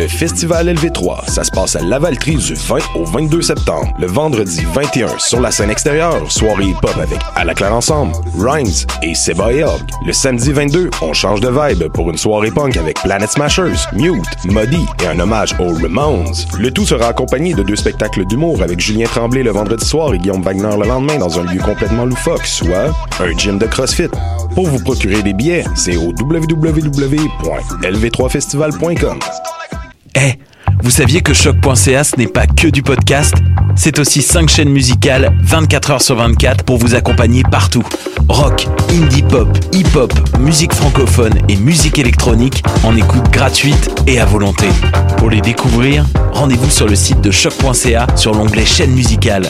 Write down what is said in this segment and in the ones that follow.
Festival LV3. Ça se passe à Lavaltrie du 20 au 22 septembre. Le vendredi 21, sur la scène extérieure, soirée hip-hop avec À la Claire Ensemble, Rhymes et Seba et Hog. Le samedi 22, on change de vibe pour une soirée punk avec Planet Smashers, Mute, Muddy et un hommage aux Ramones. Le tout sera accompagné de 2 spectacles d'humour avec Julien Tremblay le vendredi soir et Guillaume Wagner le lendemain dans un lieu complètement loufoque, soit un gym de CrossFit. Pour vous procurer des billets, c'est au www.lv3festival.com. Vous saviez que choc.ca ce n'est pas que du podcast? C'est aussi 5 chaînes musicales 24 heures sur 24 pour vous accompagner partout. Rock, indie pop, hip-hop, musique francophone et musique électronique en écoute gratuite et à volonté. Pour les découvrir, rendez-vous sur le site de choc.ca sur l'onglet chaîne musicale.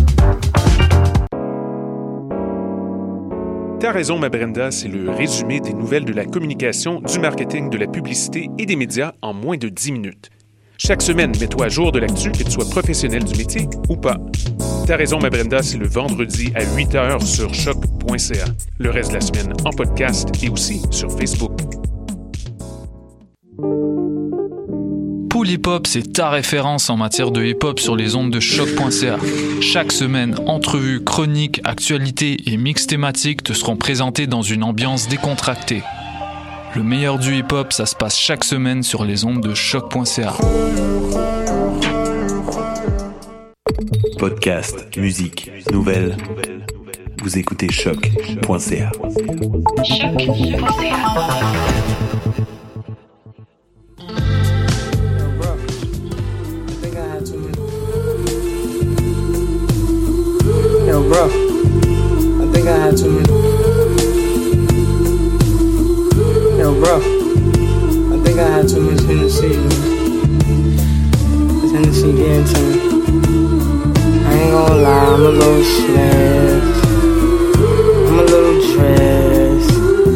T'as raison, ma Brenda, c'est le résumé des nouvelles de la communication, du marketing, de la publicité et des médias en moins de 10 minutes. Chaque semaine, mets-toi à jour de l'actu, que tu sois professionnel du métier ou pas. T'as raison, ma Brenda, c'est le vendredi à 8h sur choc.ca. Le reste de la semaine en podcast et aussi sur Facebook. Pool Hip Hop, c'est ta référence en matière de hip-hop sur les ondes de choc.ca. Chaque semaine, entrevues, chroniques, actualités et mix thématiques te seront présentés dans une ambiance décontractée. Le meilleur du hip-hop, ça se passe chaque semaine sur les ondes de choc.ca. Podcast, musique, nouvelles. Vous écoutez choc.ca. Yo, bro, I think I had too many. Yo, bro, I think I had too much Hennessy. This Hennessy getting to me. I ain't gonna lie, I'm a little stressed. I'm a little stressed.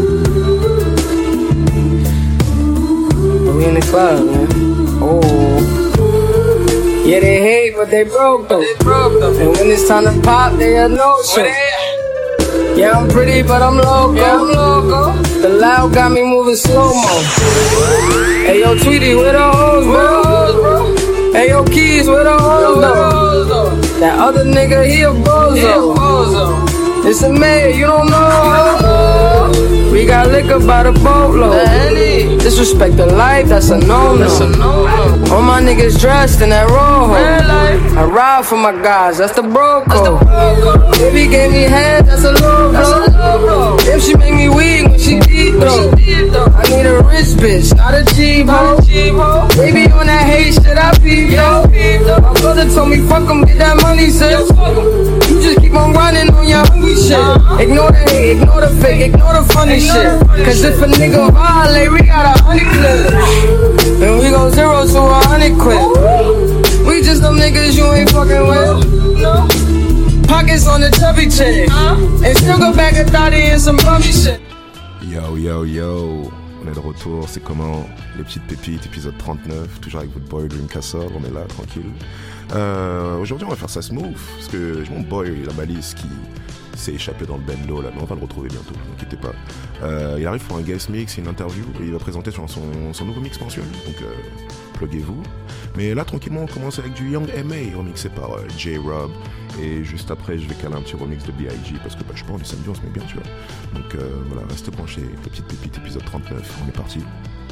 But we in the club, man. Oh. Yeah, they hate, but they broke though. And when it's time to pop, they a no-show. Yeah, I'm pretty, but I'm loco. The loud got me moving slow-mo. Hey, yo, Tweety, where the hoes, bro? Hey, yo, Keys, where the hoes, though? That other nigga, he a bozo. It's a maid, you don't know. We got liquor by the boatload. Disrespect the life, that's a no-no. All my niggas dressed in that rojo. I ride for my guys, that's the bro code. Baby gave me head, that's a low blow. If she make me weak when she deep though. I need a rich bitch, not a cheap hoe. Baby on that hate shit, I peep though. My brother told me fuck him, get that money, sis. You just keep on running on your hungry shit. Ignore the hate, ignore the fake, ignore the funny shit. Cause if a nigga violate, we got 100 clips. And we go 0 to 100 quick. We just them niggas you ain't fucking with. Pockets on the chubby chick. And still go back a 30 and some bummy shit. Yo, yo, yo. On est de retour, c'est comment? Les petites pépites, épisode 39, toujours avec votre boy Dream Castle, on est là, tranquille. Aujourd'hui on va faire ça smooth, parce que j'ai mon boy, la balise, qui s'est échappé dans le bendo là, mais on va le retrouver bientôt, ne vous inquiétez pas. Il arrive pour un guest mix, une interview, et il va présenter son nouveau mix mensuel, donc pluguez-vous. Mais là tranquillement on commence avec du Young M.A, remixé par J-Rob, et juste après je vais caler un petit remix de B.I.G, parce que je sais pas, on est samedi, on se met bien, tu vois. Donc voilà, restez branchés, les petites pépites, épisode 39, on est parti.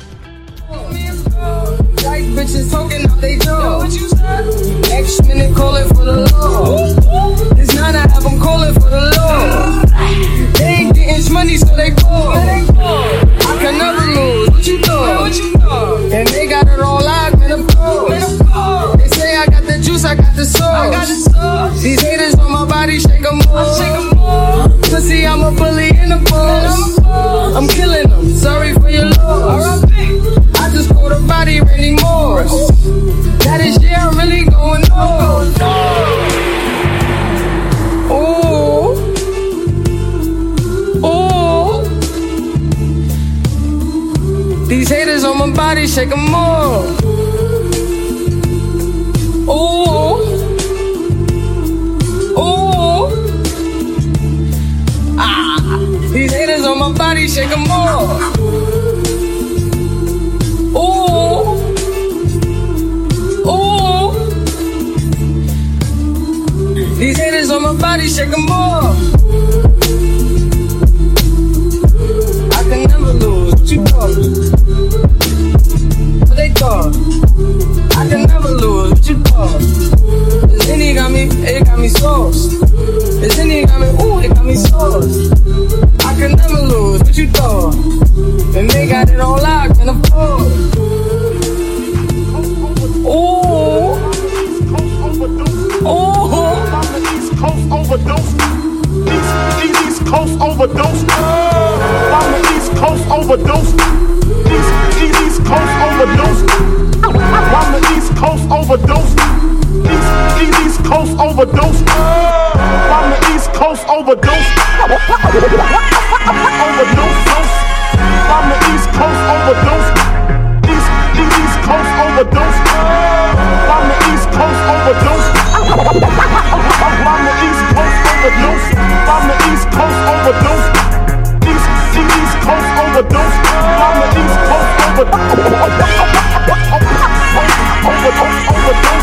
Like bitches talking out they door. Next minute calling for the law. It's 9 I have them calling for the law. They ain't getting money so they bored. I can never lose, what you thought? And they got it all locked in the course. They say I got the juice, I got the sauce. These haters on my body, shake them more. Pussy, I'm a bully in the boss. I'm killing them, sorry for your loss. I just called a body Randy Morris. That is yeah, I'm really going on. Ooh, ooh. These haters on my body, shake them more. Ooh, ooh. Ah, these haters on my body, shake them more. Ooh, Ooh. These haters on my body, shake them off. I can never lose. What you thought? What they thought? I can never lose. What you thought? This Henny got me, it got me sauced. This Henny got me, ooh, it got me sauced. I can never lose. What you thought? And they got it on lock and afford. Ooh. Ooh. Coast overdose. East Coast overdose. On the East Coast overdose. East Coast overdose. On the East Coast overdose. East Coast overdose. On the East Coast overdose. Overdose. On the East Coast overdose. East Coast overdose. On the East Coast overdose. On the East Coast overdose. On the East Coast overdose. East Coast overdose. On the East Coast overdose.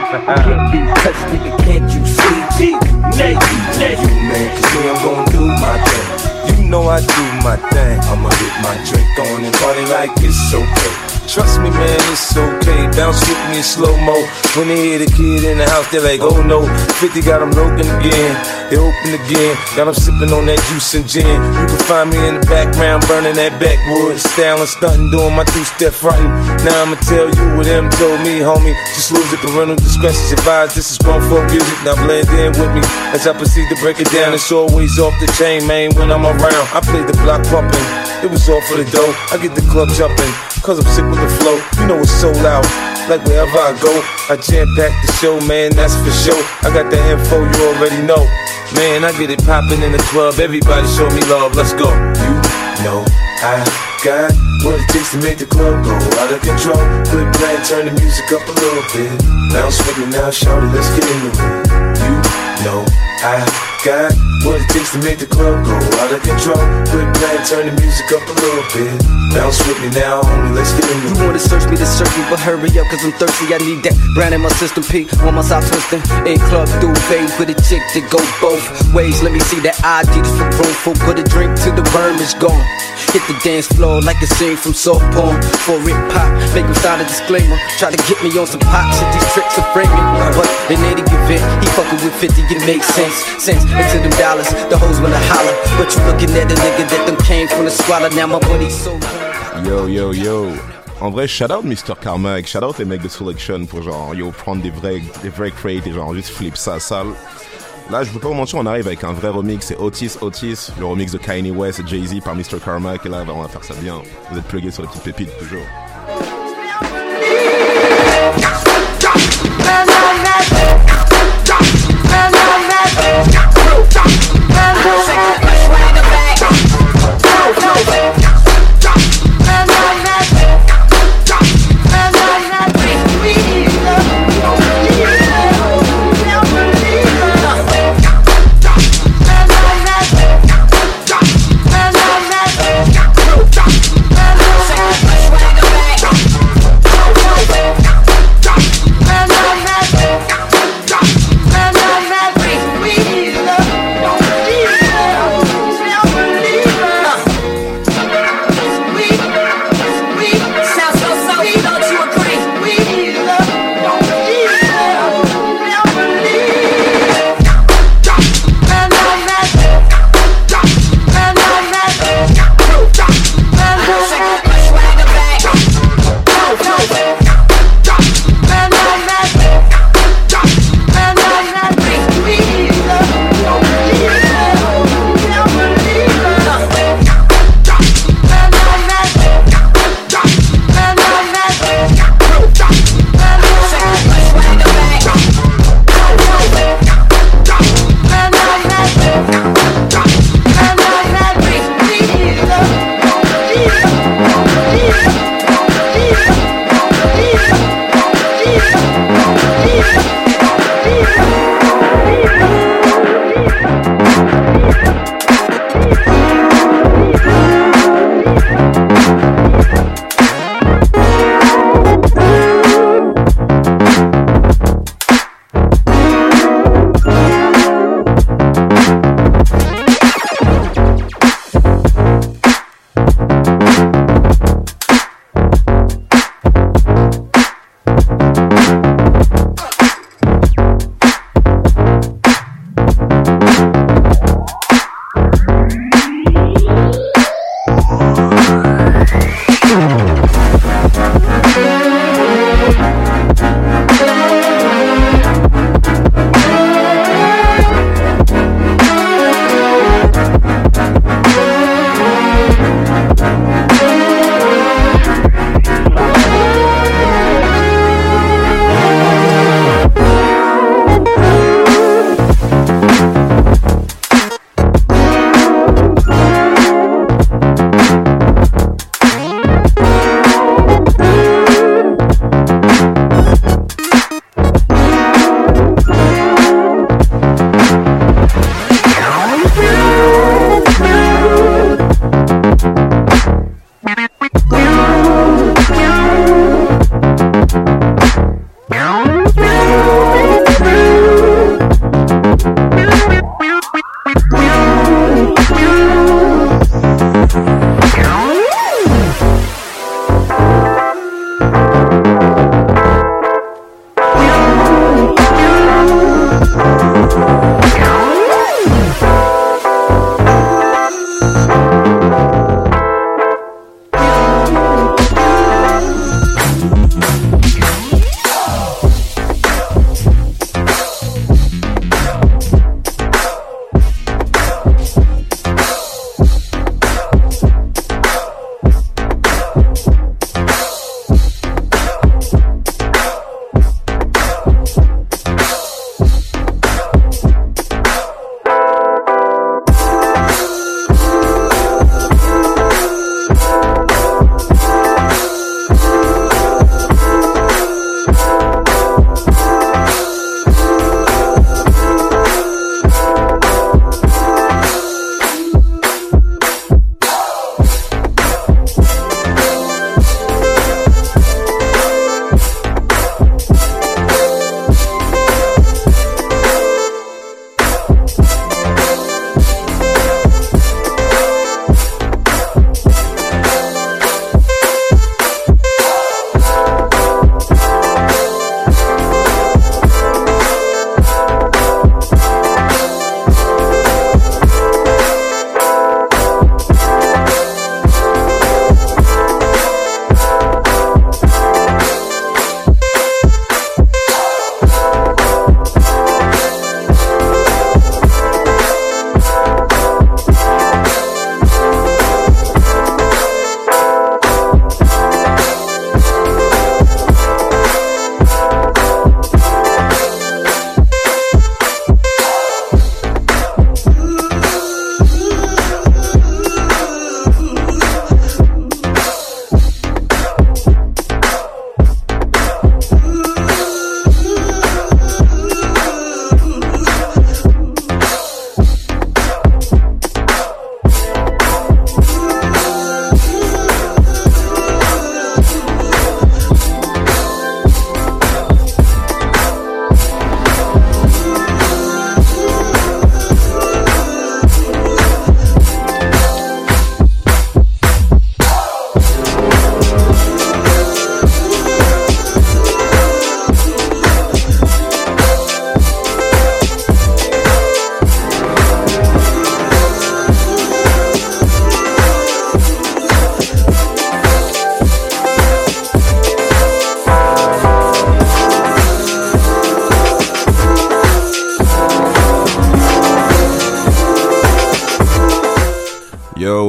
Can't be touched, nigga, can't you see? You man, cause me, I'm gon' do my thing. You know I do my thing. I'ma get my drink on and party like it's okay. Trust me, man, it's okay. Bounce with me in slow-mo. When they hear the kid in the house, they're like, oh no. 50 got them looking again. They open again. Got them sipping on that juice and gin. You can find me in the background, burning that backwoods. Styling, stunting, doing my two-step frontin'. Now I'ma tell you what them told me, homie. Just lose it, parental discretion advised. This is grown folk music. Now blend in with me as I proceed to break it down. It's always off the chain, man, when I'm around. I play the block pumping. It was all for the dough. I get the club jumping. Cause I'm sick with the flow, you know it's sold out. Like wherever I go, I jam-pack the show, man, that's for sure. I got the info, you already know. Man, I get it poppin' in the club, everybody show me love, let's go. You know I got what it takes to make the club go out of control. Quit playing, turn the music up a little bit. Bounce with me now, shout it, let's get into it. You know I got what it takes to make the club go out of control. Quit playing, turn the music up a little bit. Bounce with me now, homie, let's get into it. You wanna search me, but hurry up, cause I'm thirsty. I need that brand in my system, P. On my side twisting. A club through phase with a chick that go both ways. Let me see that ID for room for. Put a drink till the worm is gone. Hit the dance floor like a scene from soft porn. For it pop, make him sign a disclaimer. Try to get me on some pop shit, these tricks are framing. But in any event, he fucking with 50, it makes sense. Into them dollars, the hoes wanna holler. But you looking at a nigga that them came from the squalor. Now my money's so Yo. En vrai, shout out Mr. Carmack, shout out les mecs de Selection pour genre, yo, prendre des vrais crates et genre juste flip ça sale. Là, je peux pas vous mentir, on arrive avec un vrai remix, c'est Otis, le remix de Kanye West et Jay-Z par Mr. Carmack, et là, on va faire ça bien. Vous êtes plugués sur les petites pépites, toujours.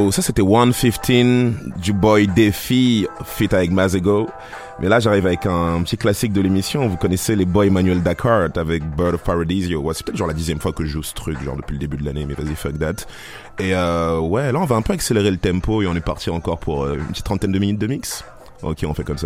ça c'était 115 du boy Défi feat avec Mazego. Mais là j'arrive avec un petit classique de l'émission. Vous connaissez les boys Emmanuel Dakar avec Bird of Paradisio. Ouais, c'est peut-être genre la 10e fois que je joue ce truc, genre depuis le début de l'année, mais vas-y, fuck that. Et ouais, là on va un peu accélérer le tempo et on est parti encore pour une petite trentaine de minutes de mix. Ok, on fait comme ça.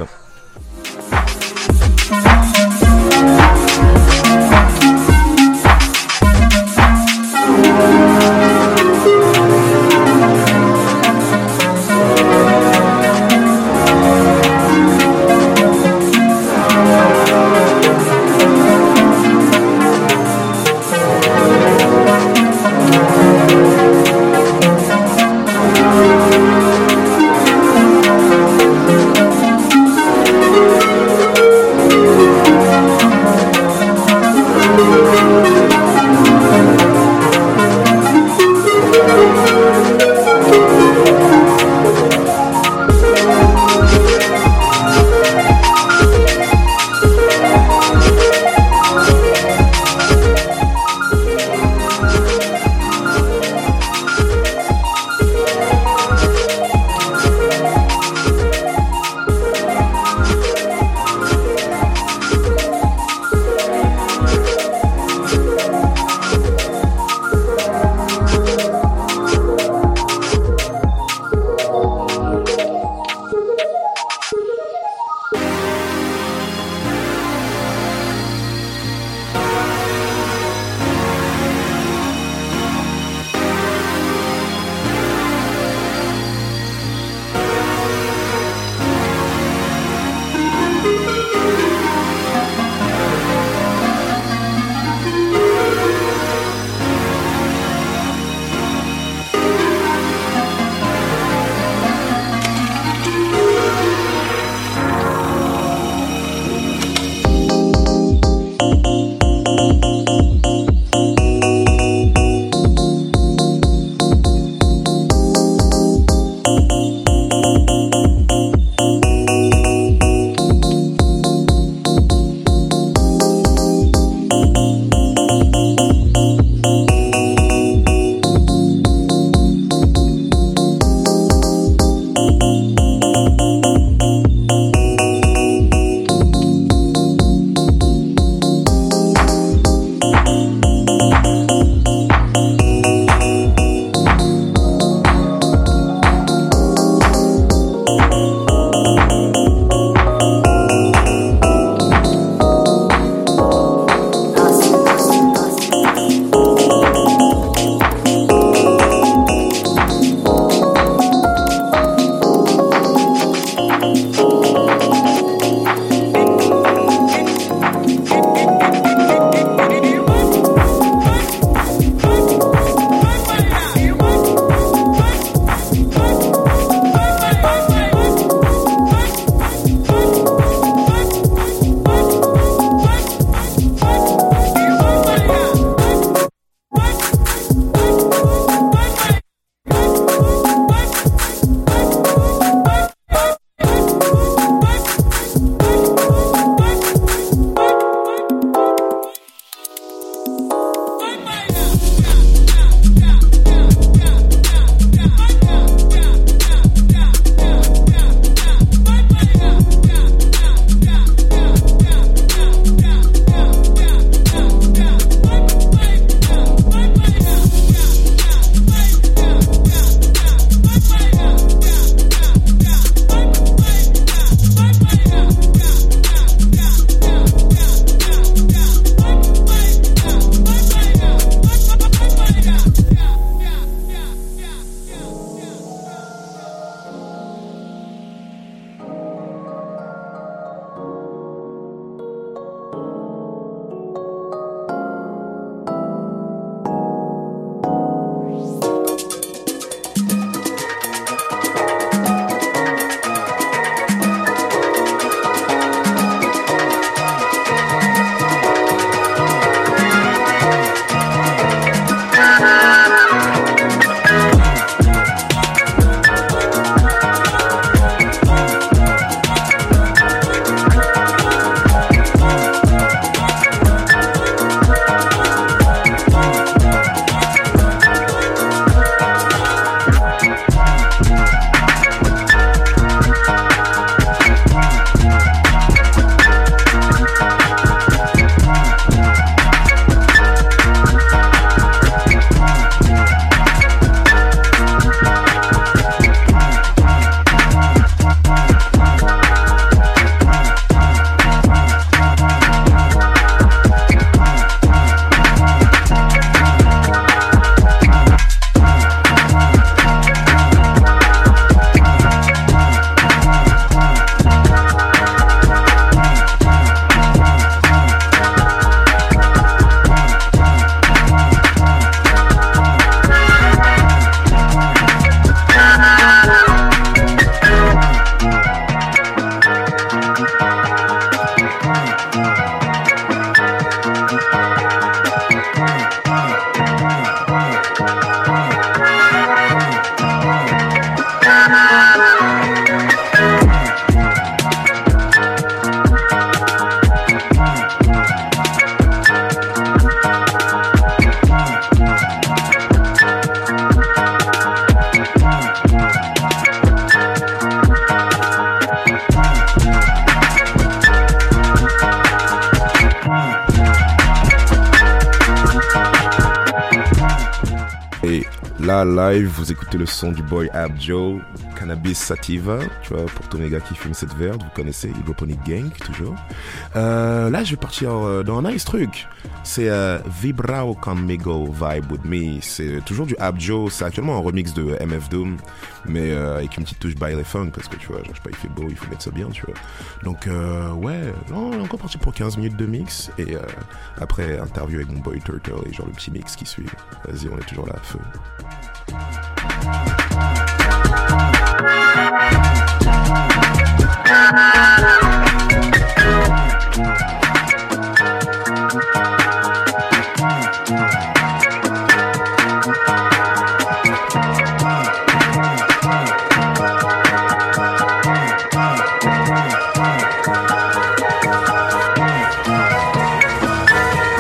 là, live, vous écoutez le son du boy Abjo, Cannabis Sativa, tu vois, pour tous mes gars qui fument cette verde, vous connaissez, Hydroponic Gang, toujours. Là, je vais partir dans un nice truc. C'est Vibrao Conmigo Vibe With Me. C'est toujours du Abjo, c'est actuellement un remix de MF Doom, mais avec une petite touche baile funk, parce que tu vois, genre, je sais pas, il fait beau, il faut mettre ça bien, tu vois. Donc, ouais, on est encore parti pour 15 minutes de mix, et après, interview avec mon boy Turtle, et genre le petit mix qui suit. Vas-y, on est toujours là à feu.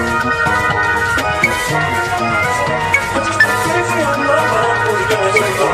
We'll be right back.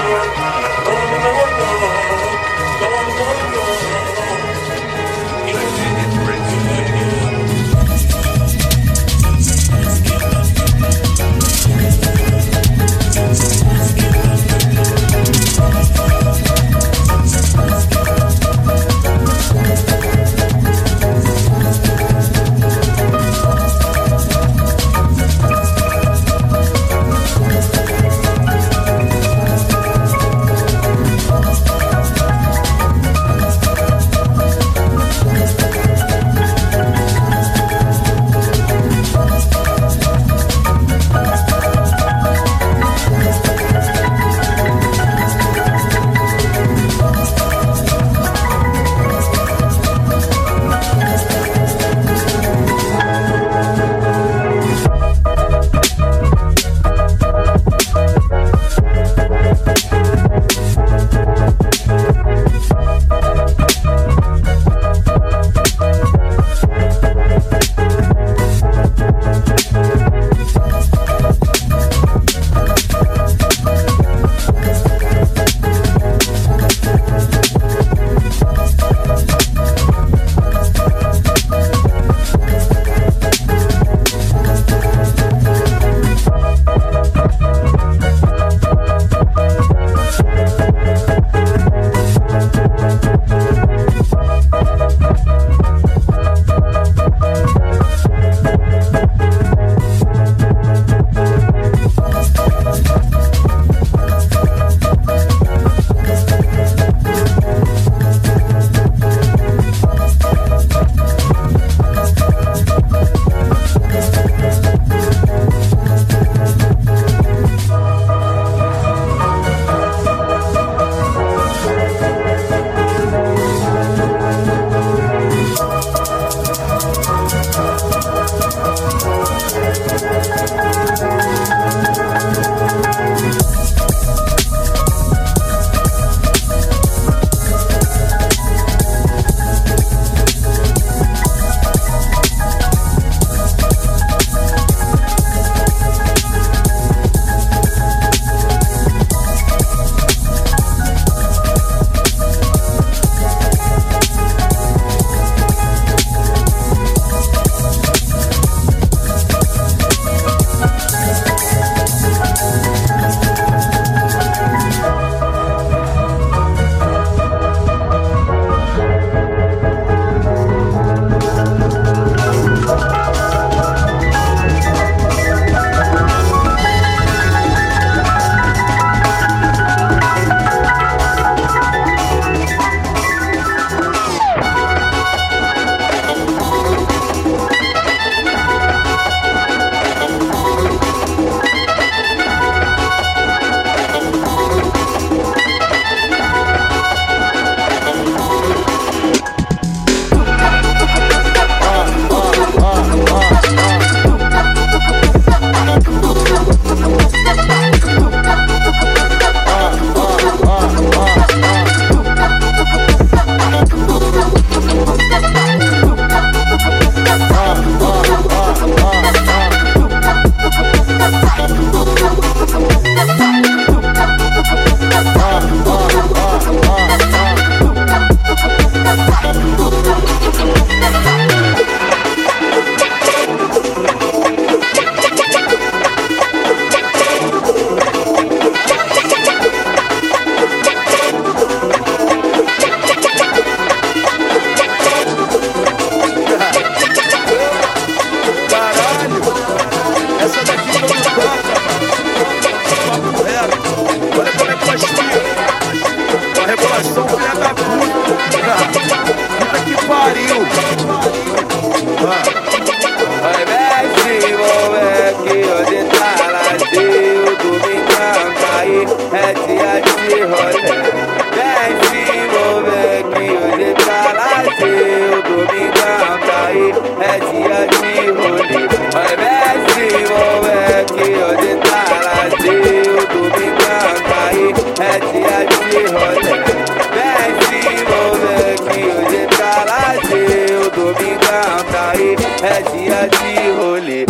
É dia de rolê.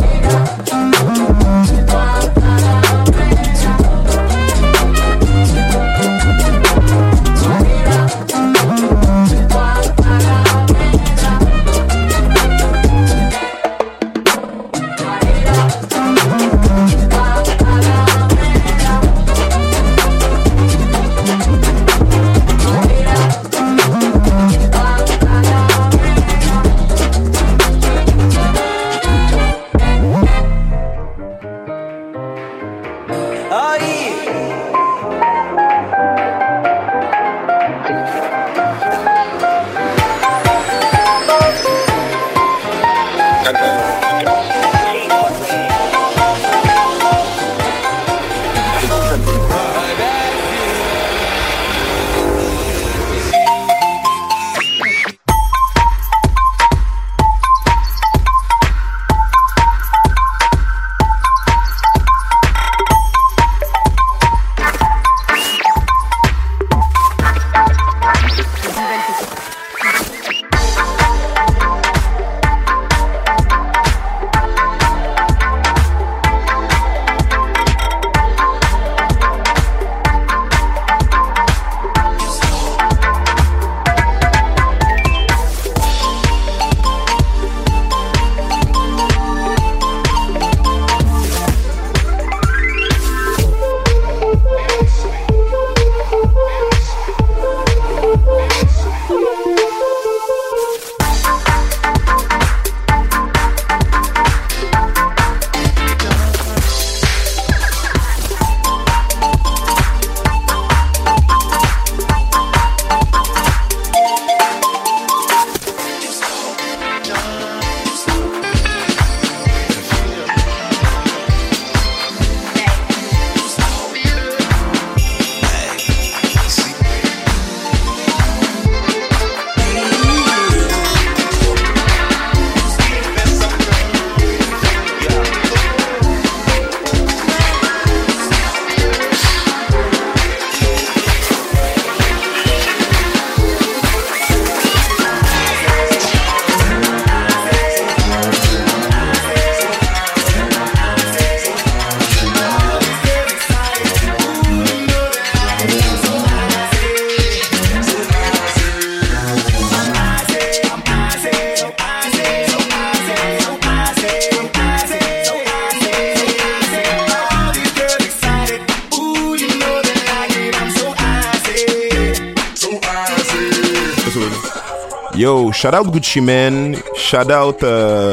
Yo, shout out Gucci Mane, shout out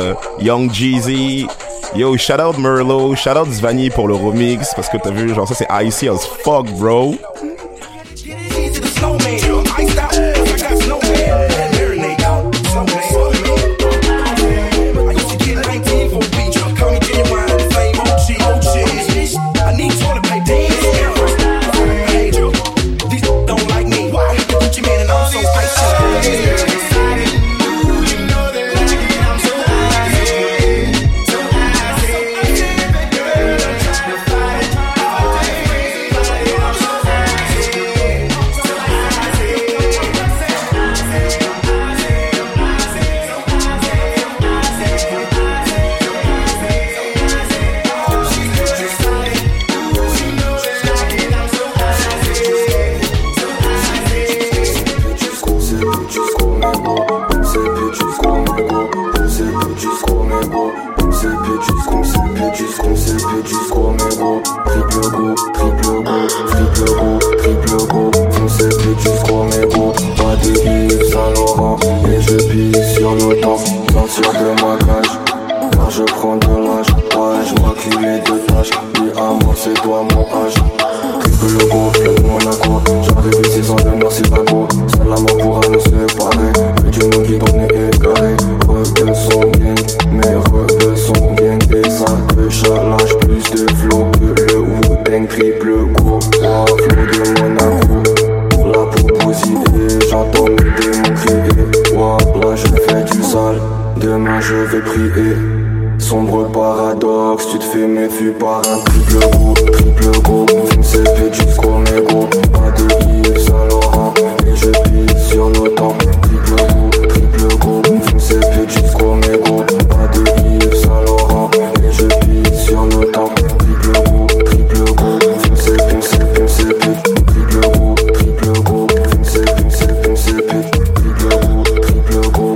Young Jeezy, yo, shout out Merlot, shout out Zvani pour le remix, parce que t'as vu, genre ça c'est icy as fuck, bro. Monaco, j'arrive 6 ans de Monaco, seul la mort pourra nous séparer. Mais du monde qui donne est égaré. vais prier. Sombre paradoxe, tu te fais méfier par un triple go. Vince fait jusqu'au mégot. Pas de Yves Saint Laurent, et je pisse sur nos temps. Triple go, Vince fait jusqu'au mégot. Pas de Yves Saint Laurent, et je pisse sur nos temps. Triple go, Vince fait triple go, Vince fait triple go.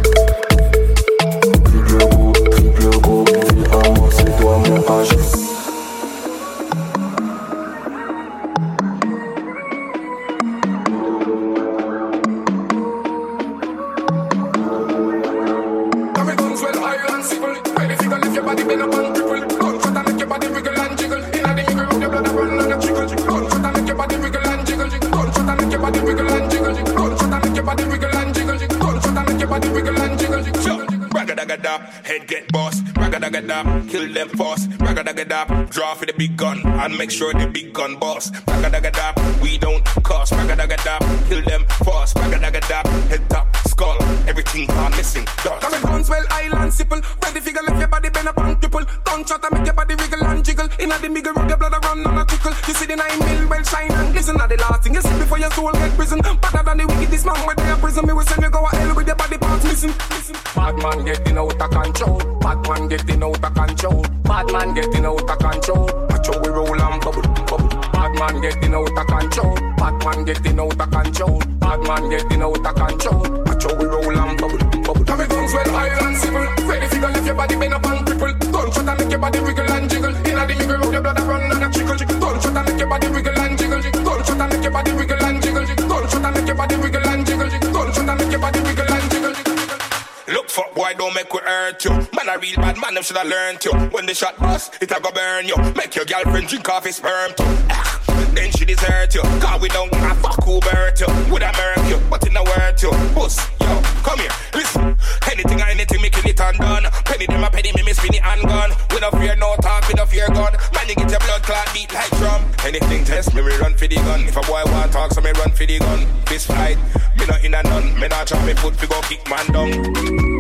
Head get boss, ragga-dagga-da, kill them fast, ragga-dagga-da, draw for the big gun, and make sure the big gun boss, ragga-dagga-da, we don't cost, ragga-dagga-da, kill them fast, ragga-dagga-da, head top, skull, everything gone missing, dust. Coming Brownswell Island, simple, ready figure, left your body bend up and triple, gunshot and make your body wiggle and jiggle, inna the middle road, your blood a run and a trickle, you see the 9 mil well shine and glisten, at the last thing you see before your soul get prison, better than the wickedest man where they are prison, me will send you go a hell with your body parts missing, bad man getting out of control. Bad man getting out of control. Bad man getting out of control. Watch how we roll and bubble. Bad man getting out of control. Bad man getting out of control. Bad man getting out of control. Watch how we roll and bubble. Come it guns well high and simple. Ready figure lift your body bend up and cripple. Gunshot and make your body wiggle and jiggle. Inna the middle road your blood a run and a trickle. Gunshot and make your body wiggle and jiggle. Gunshot and make your body wiggle and jiggle. Gunshot and make your body wiggle and jiggle. Gunshot and make your body wiggle and jiggle. Look fuck boy, don't make we hurt you. Man a real bad man, them shoulda learned you. When the shot bust, it a go burn you. Make your girlfriend drink off his sperm too. Then she desert you. Cause we don't give a fuck who hurt you. Woulda murk you, but it no worth you. Puss, yo, come here, listen. Anything or anything, making it undone. Penny them a penny, me spin it and gun. We no fear no talk, we no fear gun. Man, you get your blood clot beat like drum. Anything test me, we run for the gun. If a boy want talk, so me run for the gun. This fight, me not in a none. Me not try me foot, we go kick man down.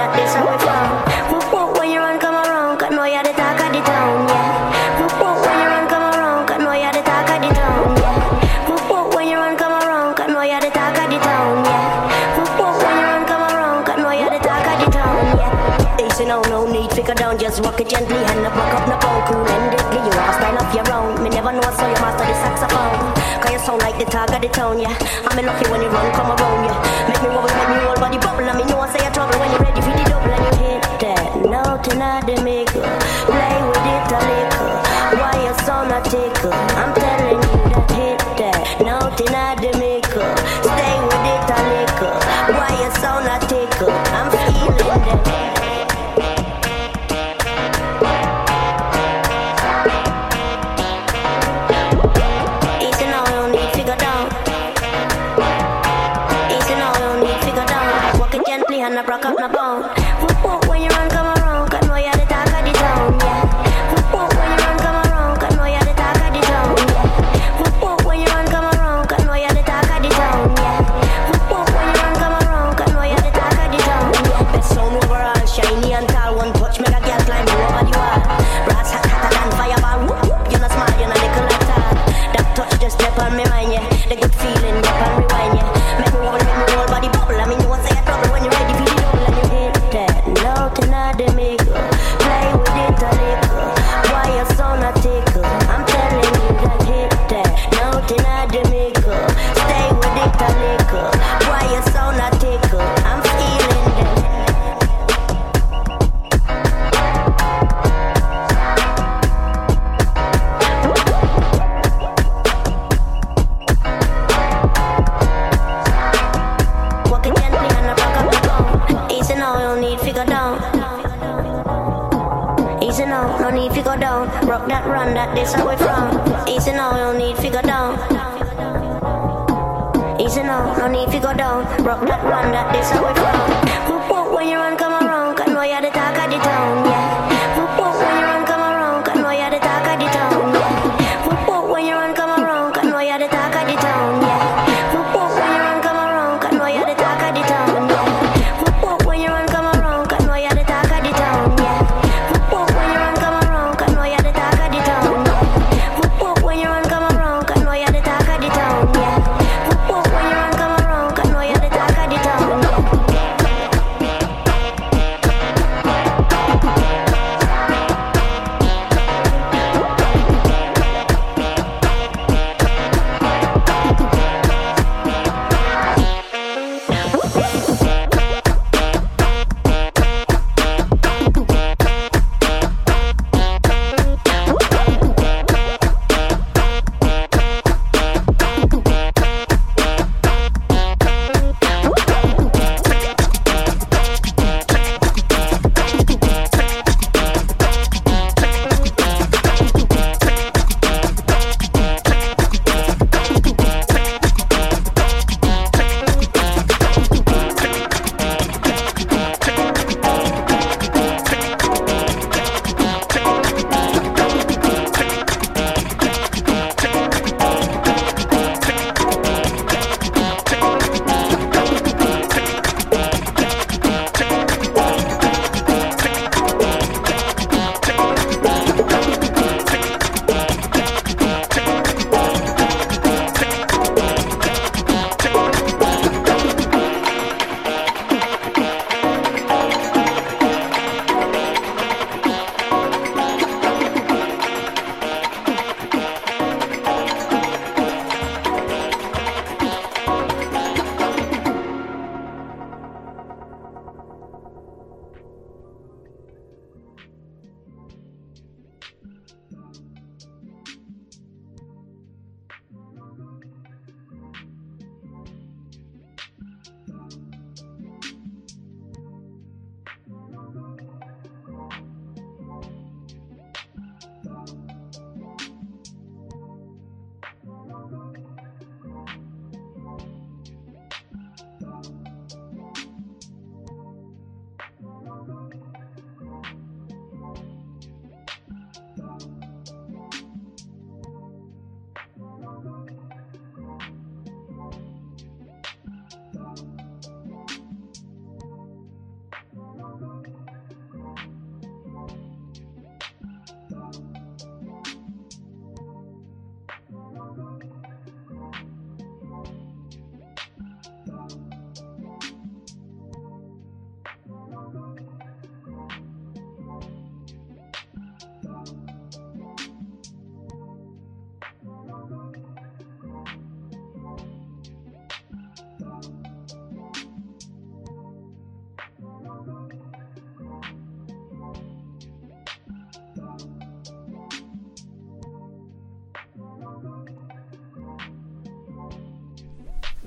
that this how we from. Whoop whoop when you run come around, cause know you're the talk of the town, yeah. Whoop whoop when you run come around, cause know you're the talk of the town, yeah. Whoop whoop when you run come around, cause know you're the talk of the town, yeah. Whoop whoop when you run come around, cause know you're the talk of the town, yeah. Easy now, no need figure down, just walk it gently and up, rock up, no pound, cool and deadly. You have a style of your own, me never know so you master the saxophone. Cause you sound like the talk of the town, yeah. I'm lucky when you run, come around, yeah. Make me wobble, make me whole body bubble. And me know I say you're trouble when you're ready for the double. And you hit that note in the maker. Play with it a little. Why you sound a tickle? I'm telling you that hit that note in the maker. Stay with it a little. Why you sound a tickle? I'm feeling that. And I broke up my bone. Whoop whoop when you run come around, cause know you're the talk of the town, yeah. Whoop whoop when you run come around, cause know you're the talk of the town, yeah. Whoop whoop when you run come around, cause know you're the talk of the town, yeah. Whoop whoop when you run come around, cause know you're the talk of the town, yeah. Best sound overall, shiny and tall. One touch make a girl climb you over the wall. Brass hot hotter than fireball. Whoop whoop, you're not smart, you're not nickel like that. That touch just step on me mind, yeah. The good feeling, up and rewind, yeah. Make me wobble, make me whole body bubble. I mean you won't say a trouble when you're ready for the double. And you hit that note in the maker. Play with it a little. Why you sound a tickle? I'm telling you that hit that note in the maker. Stay with it a little. Why you sound a tickle? I'm feeling that. Easy now, no need to go down. Rock that, run that, this how we from. Easy now, no need to go down. Easy now, no need to go down. Rock that, run that, this how we from. Whoop whoop when you run come around, cause know you're the talk of the town, yeah. Whoop whoop when you run come around, cause know you're the talk of the town, yeah. Whoop whoop when you run come around, cause know you're the talk of the town, yeah. Whoop whoop when you run come around, cause know you're the talk of the town, yeah. Whoop whoop when you run come around, cause know you're the talk of the town, yeah. Whoop whoop when you run come around, cause know you're the talk of the town, yeah. Whoop whoop when you run come around, cause know you're the talk of the town, yeah. Whoop whoop when you run come around, cause know you're the talk of the town, yeah.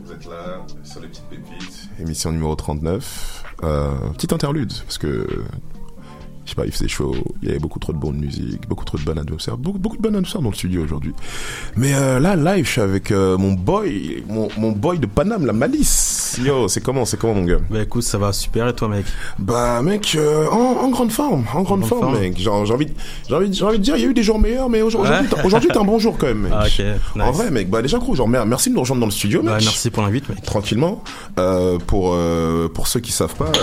Vous êtes là sur les petites pépites. Émission numéro 39. Petite interlude, parce que je sais pas, il faisait chaud, il y avait beaucoup trop de bonne musique, beaucoup trop de bonne atmosphère, beaucoup de bonne atmosphère dans le studio aujourd'hui. Mais là, live, je suis avec mon boy de Paname, la Malice. Yo, c'est comment mon gars? Bah écoute, ça va super, et toi mec? Bah mec, en grande forme, mec. Genre, j'ai envie de dire, il y a eu des jours meilleurs, mais aujourd'hui t'es un bon jour quand même, mec. Ah, ok, nice. En vrai, mec, bah déjà gros, genre merci de nous rejoindre dans le studio, mec. Bah merci pour l'invite, mec. Tranquillement. Pour ceux qui savent pas,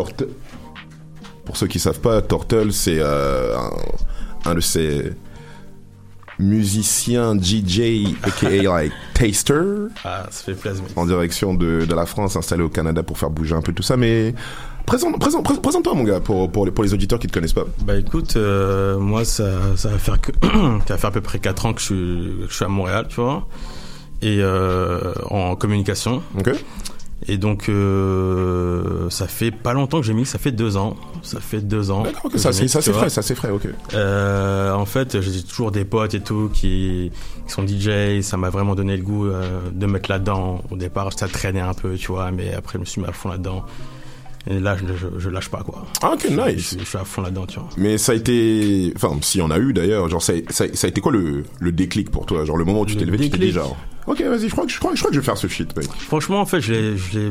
Tortle, c'est un de ces musiciens DJ, aka like taster. Ah, ça fait plaisir. En direction de la France, installé au Canada pour faire bouger un peu tout ça. Mais présente-toi, mon gars, pour les auditeurs qui te connaissent pas. Bah écoute, moi ça va faire à peu près 4 ans que je suis à Montréal, tu vois, et en communication. Ok. Et donc ça fait pas longtemps que j'ai mis, ça fait 2 ans. D'accord, ok, ça c'est frais, ok. En fait, j'ai toujours des potes et tout qui sont DJ, ça m'a vraiment donné le goût de mettre là-dedans. Au départ, ça traînait un peu, tu vois, mais après je me suis mis à fond là-dedans. Et là, je lâche pas, quoi. Ah, ok, nice. Je suis à fond là-dedans, tu vois. Mais ça a été, enfin, s'il y en a eu d'ailleurs, genre ça a été quoi le déclic pour toi, genre le moment où tu t'es levé, tu t'es dit genre, ok, vas-y, je crois que je vais faire ce shit, mec. Franchement, en fait, je l'ai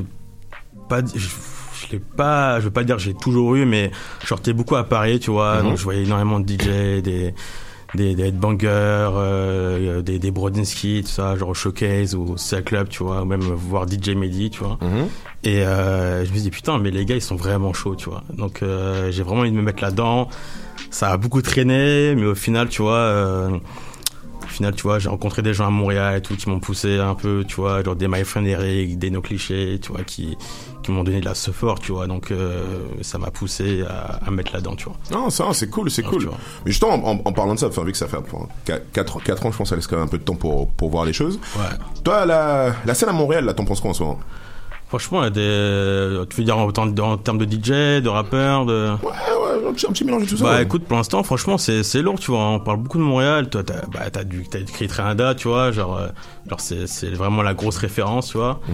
pas, je veux pas dire que j'ai toujours eu, mais je sortais beaucoup à Paris, tu vois, donc je voyais énormément de DJ, des headbangers, des Brodinski, tout ça, genre au Showcase ou Cell Club, tu vois, ou même voir DJ Mehdi, tu vois. Et je me suis dit, putain, mais les gars, ils sont vraiment chauds, tu vois. Donc j'ai vraiment envie de me mettre là-dedans. Ça a beaucoup traîné, mais au final, tu vois, j'ai rencontré des gens à Montréal et tout qui m'ont poussé un peu, tu vois, genre des My Friend Eric, des No Clichés, tu vois, qui m'ont donné de la support, tu vois. Donc ça m'a poussé à mettre là-dedans, tu vois. Non, ça, c'est cool. Mais justement, en parlant de ça, vu que ça fait 4 ans, je pense que ça laisse quand même un peu de temps pour voir les choses. Ouais. Toi, la scène à Montréal, là, t'en penses quoi en ce moment? Franchement, tu veux dire en termes de DJ, de rappeurs, de... Ouais, un petit mélange de tout ça. Bah écoute, pour l'instant, franchement, c'est lourd, tu vois. On parle beaucoup de Montréal. Toi, t'as écrit Trianda, tu vois. Genre c'est vraiment la grosse référence, tu vois.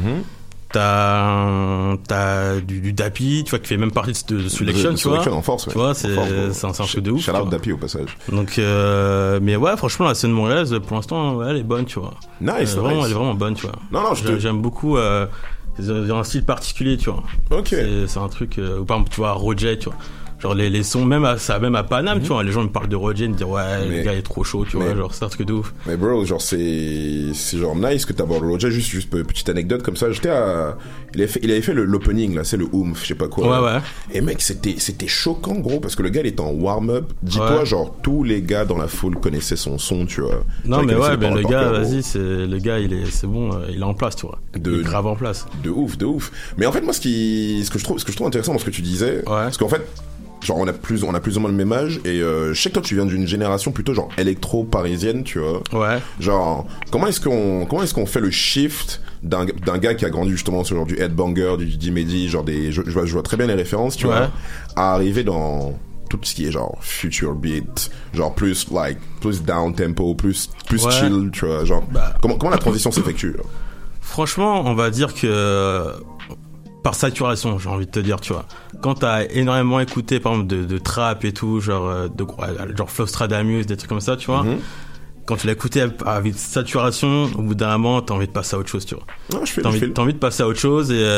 T'as du Dappy, tu vois, qui fait même partie de Selection, tu vois. Selection en force, ouais. Tu vois, c'est un truc de ouf. Shout out Dappy au passage. Donc, mais ouais, franchement, la scène montréalaise, pour l'instant, ouais, elle est bonne, tu vois. Nice, elle est vraiment bonne, tu vois. Non, j'aime beaucoup. Ils ont un style particulier, tu vois. Ok. C'est un truc, ou par exemple, tu vois, Roger, tu vois. Genre les sons, même à Paname, tu vois, les gens me parlent de Roger, ils me disent ouais, le gars est trop chaud, tu vois, genre c'est un truc de ouf. Mais bro, genre c'est genre nice que t'abordes Roger, juste petite anecdote comme ça, il avait fait l'opening là, c'est le Oomph, je sais pas quoi. Ouais. Et mec, c'était choquant gros, parce que le gars il était en warm-up, dis-toi genre tous les gars dans la foule connaissaient son son, tu vois. Non mais ouais, ben le gars, vas-y, c'est bon, il est en place, tu vois. Il est grave en place. De ouf. Mais en fait moi ce que je trouve intéressant dans ce que tu disais, parce qu'en fait genre on a plus ou moins le même âge et je sais que toi tu viens d'une génération plutôt genre électro parisienne, tu vois. Ouais. Genre comment est-ce qu'on fait le shift d'un gars qui a grandi justement sur genre du headbanger, du DJ Mehdi, genre je vois très bien les références, tu vois, à arriver dans tout ce qui est genre future beat, genre plus down tempo, plus chill, tu vois, genre comment la transition s'effectue là? Franchement, on va dire que par saturation, j'ai envie de te dire, tu vois. Quand t'as énormément écouté, par exemple, de trap et tout, genre Flowstradamus, des trucs comme ça, tu vois. Quand tu l'as écouté avec saturation, au bout d'un moment, t'as envie de passer à autre chose, tu vois. T'as envie de passer à autre chose et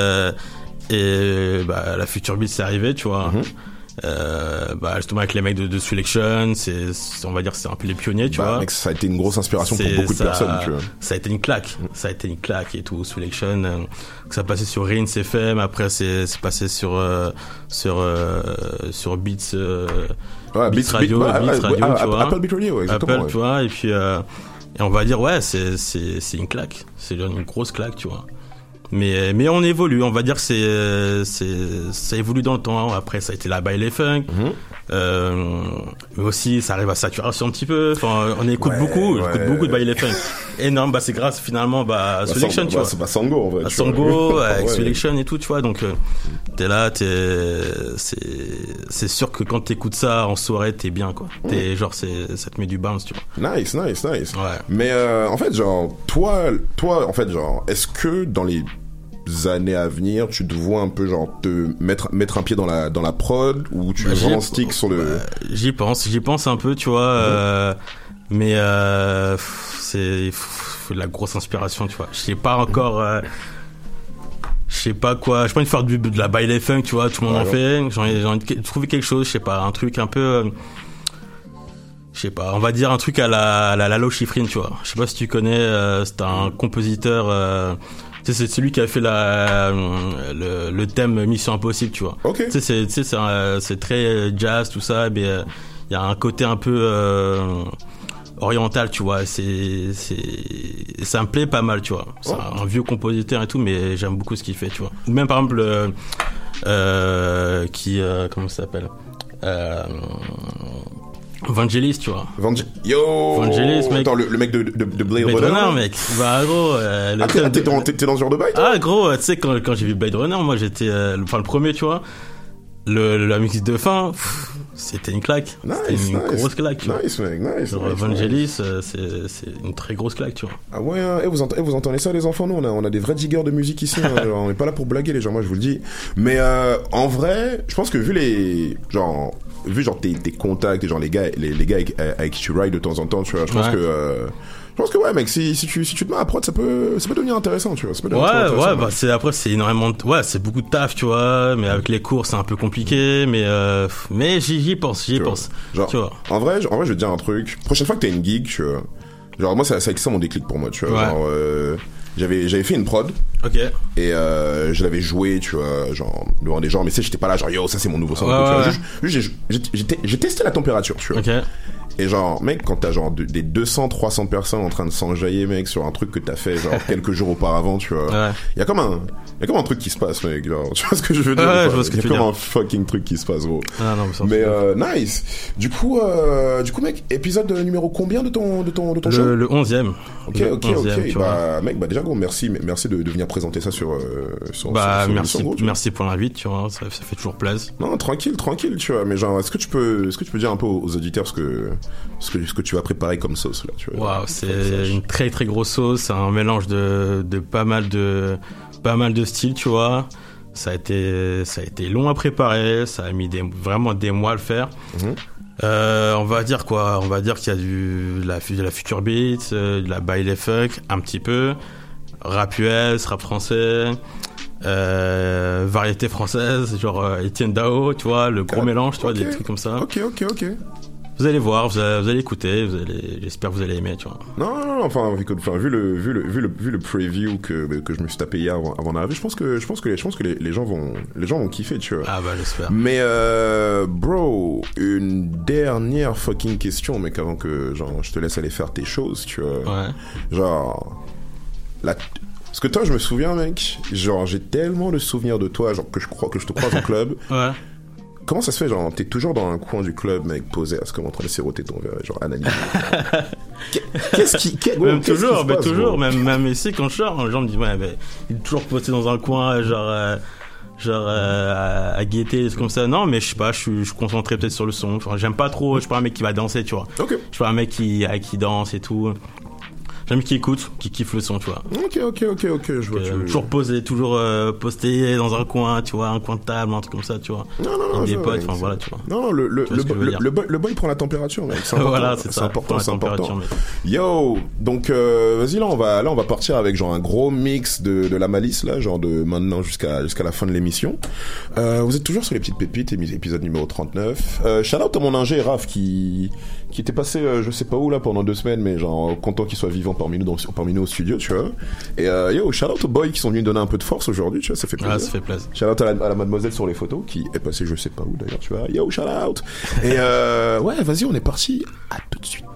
la Future Beat c'est arrivé, tu vois. Justement avec les mecs de Selection, on va dire c'est un peu les pionniers, tu vois. Mec, ça a été une grosse inspiration pour beaucoup de personnes, tu vois. Ça a été une claque, et tout. Selection, ça passait sur Rinse FM, après c'est passé sur Beats, Beats Radio, tu vois. Apple Beat Radio, exactement. Apple, tu vois, et puis et on va dire c'est une claque, c'est une grosse claque, tu vois. Mais on évolue, on va dire que ça évolue dans le temps. Après ça a été la Baile Funk, Mais aussi, ça arrive à saturation un petit peu. Enfin, on écoute beaucoup de baile funk. Énorme, c'est grâce finalement à Selection, tu vois. C'est pas Sango en vrai. Sango, avec Selection et tout, tu vois. Donc, t'es là, c'est sûr que quand t'écoutes ça en soirée, t'es bien, quoi. T'es genre, ça te met du bounce, tu vois. Nice. Ouais. Mais en fait, genre, toi, en fait, genre, est-ce que dans les années à venir, tu te vois un peu genre te mettre un pied dans la prod, ou tu veux vraiment stick sur le... J'y pense un peu, tu vois, mais c'est faut de la grosse inspiration, tu vois. Je sais pas encore, je sais pas quoi, j'ai pas envie de faire de la baile funk, tu vois, tout le monde en fait. J'ai envie de trouver quelque chose, je sais pas, un truc un peu, je sais pas, on va dire un truc à la Lalo Schifrin, tu vois. Je sais pas si tu connais, c'est un compositeur, c'est celui qui a fait le thème Mission Impossible, tu vois. Ok. C'est très jazz, tout ça, mais il y a un côté un peu oriental, tu vois. Ça me plaît pas mal, tu vois. C'est un vieux compositeur et tout, mais j'aime beaucoup ce qu'il fait, tu vois. Ou même par exemple comment ça s'appelle, Vangelis, tu vois. Vangelis, mec. Attends, le mec de Blade Runner, mec. Bah, gros, t'es dans ce genre de bail, toi? Ah, gros, tu sais, quand j'ai vu Blade Runner, moi, j'étais, le premier, tu vois. La musique de fin, c'était une claque. C'était une grosse claque, tu vois. Nice, mec, nice. Vangelis, c'est une très grosse claque, tu vois. Ah ouais, hein. Vous entendez ça, les enfants? Nous, on a des vrais diggers de musique ici, hein. Genre, on est pas là pour blaguer, les gens, moi, je vous le dis. Mais, en vrai, je pense que vu tes contacts et genre les gars avec qui tu rides de temps en temps, tu vois, je pense que ouais, mec, si tu te mets à prod, ça peut devenir intéressant, tu vois. C'est énormément c'est beaucoup de taf, tu vois, mais avec les cours c'est un peu compliqué, mais j'y pense. Genre, tu vois. En vrai, je vais te dire un truc. Prochaine fois que t'as une gig, tu vois, genre moi c'est ça mon déclic pour moi, tu vois. Genre, j'avais fait une prod. Ok. Et je l'avais joué, tu vois, genre devant des gens, mais tu sais, j'étais pas là genre yo, ça c'est mon nouveau son, tu vois. J'ai testé la température, tu vois. Ok. Et genre, mec, quand t'as genre des 200-300 personnes en train de s'enjailler, mec, sur un truc que t'as fait genre quelques jours auparavant, tu vois. Il y a comme un truc qui se passe, mec, genre, tu vois ce que je veux dire? Je vois ce que tu veux dire. Il y a comme un fucking truc qui se passe, gros. Mais nice. Du coup, mec, épisode numéro combien de ton show? Le 11e. Ok. Mec, déjà, gros, merci de venir présenter ça sur merci pour l'invite, tu vois, ça fait toujours plaisir. Non, tranquille, tu vois, mais genre, est-ce que tu peux dire un peu aux auditeurs ce que tu vas préparer comme sauce, là, tu vois? Waouh, c'est une très très grosse sauce, c'est un mélange de pas mal de styles, tu vois. Ça a été long à préparer, ça a mis vraiment des mois à le faire. On va dire quoi? On va dire qu'il y a de la future beat, de la baile funk, un petit peu, rap US, rap français, variété française, genre Etienne Dao, tu vois, le gros mélange, tu vois, des trucs comme ça. Ok. Vous allez voir, vous allez écouter, j'espère que vous allez aimer, tu vois. Non, enfin, vu le preview que je me suis tapé hier avant d'arriver, je pense que les gens vont kiffer, tu vois. Ah bah, j'espère. Mais bro, une dernière fucking question, mec, avant que genre je te laisse aller faire tes choses, tu vois. Ouais. Genre parce que toi, je me souviens, mec, genre j'ai tellement de souvenirs de toi, genre que je te croise en club. Ouais. Comment ça se fait, genre, t'es toujours dans un coin du club, mec, posé à ce comme en train de siroter ton verre, genre, analyse. Toujours, même ici, quand je sors, les gens me disent, ouais, mais il est toujours posé dans un coin, genre, à guetter, comme ça. Non, mais je sais pas, je suis concentré peut-être sur le son. Enfin, j'aime pas trop, je suis pas un mec qui va danser, tu vois. Ok. Je suis pas un mec qui danse et tout. J'aime qui écoute, qui kiffe le son, tu vois. Ok, je vois. Toujours posé, toujours posté dans un coin, tu vois, un coin de table, un truc comme ça, tu vois. Non, avec des potes, enfin voilà, tu vois. Non, le boy prend la température, mec. C'est important. Voilà, c'est ça. C'est important. Yo, donc vas-y, là on va partir avec genre un gros mix de la malice là, genre de maintenant jusqu'à la fin de l'émission. Vous êtes toujours sur les petites pépites, épisode numéro 39. Shout out à mon ingé Raph qui était passé je sais pas où là pendant 2 semaines, mais genre content qu'il soit vivant parmi nous au studio, tu vois. Et yo, shout out aux boys qui sont venus donner un peu de force aujourd'hui, tu vois, ça fait plaisir. Ah, ça fait plaisir. Shout out à la mademoiselle sur les photos qui est passée je sais pas où d'ailleurs, tu vois. Yo, shout out. Et ouais, vas-y, on est parti. À tout de suite.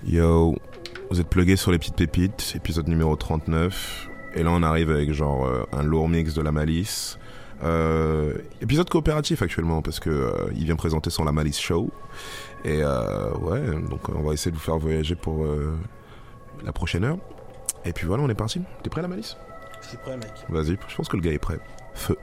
Yo, vous êtes plugués sur les petites pépites, épisode numéro 39. Et là on arrive avec genre un lourd mix de La Malice. Épisode coopératif actuellement parce que il vient présenter son La Malice Show. Et ouais, donc on va essayer de vous faire voyager pour la prochaine heure. Et puis voilà, on est parti. T'es prêt La Malice? Je suis prêt mec. Vas-y, je pense que le gars est prêt. Feu.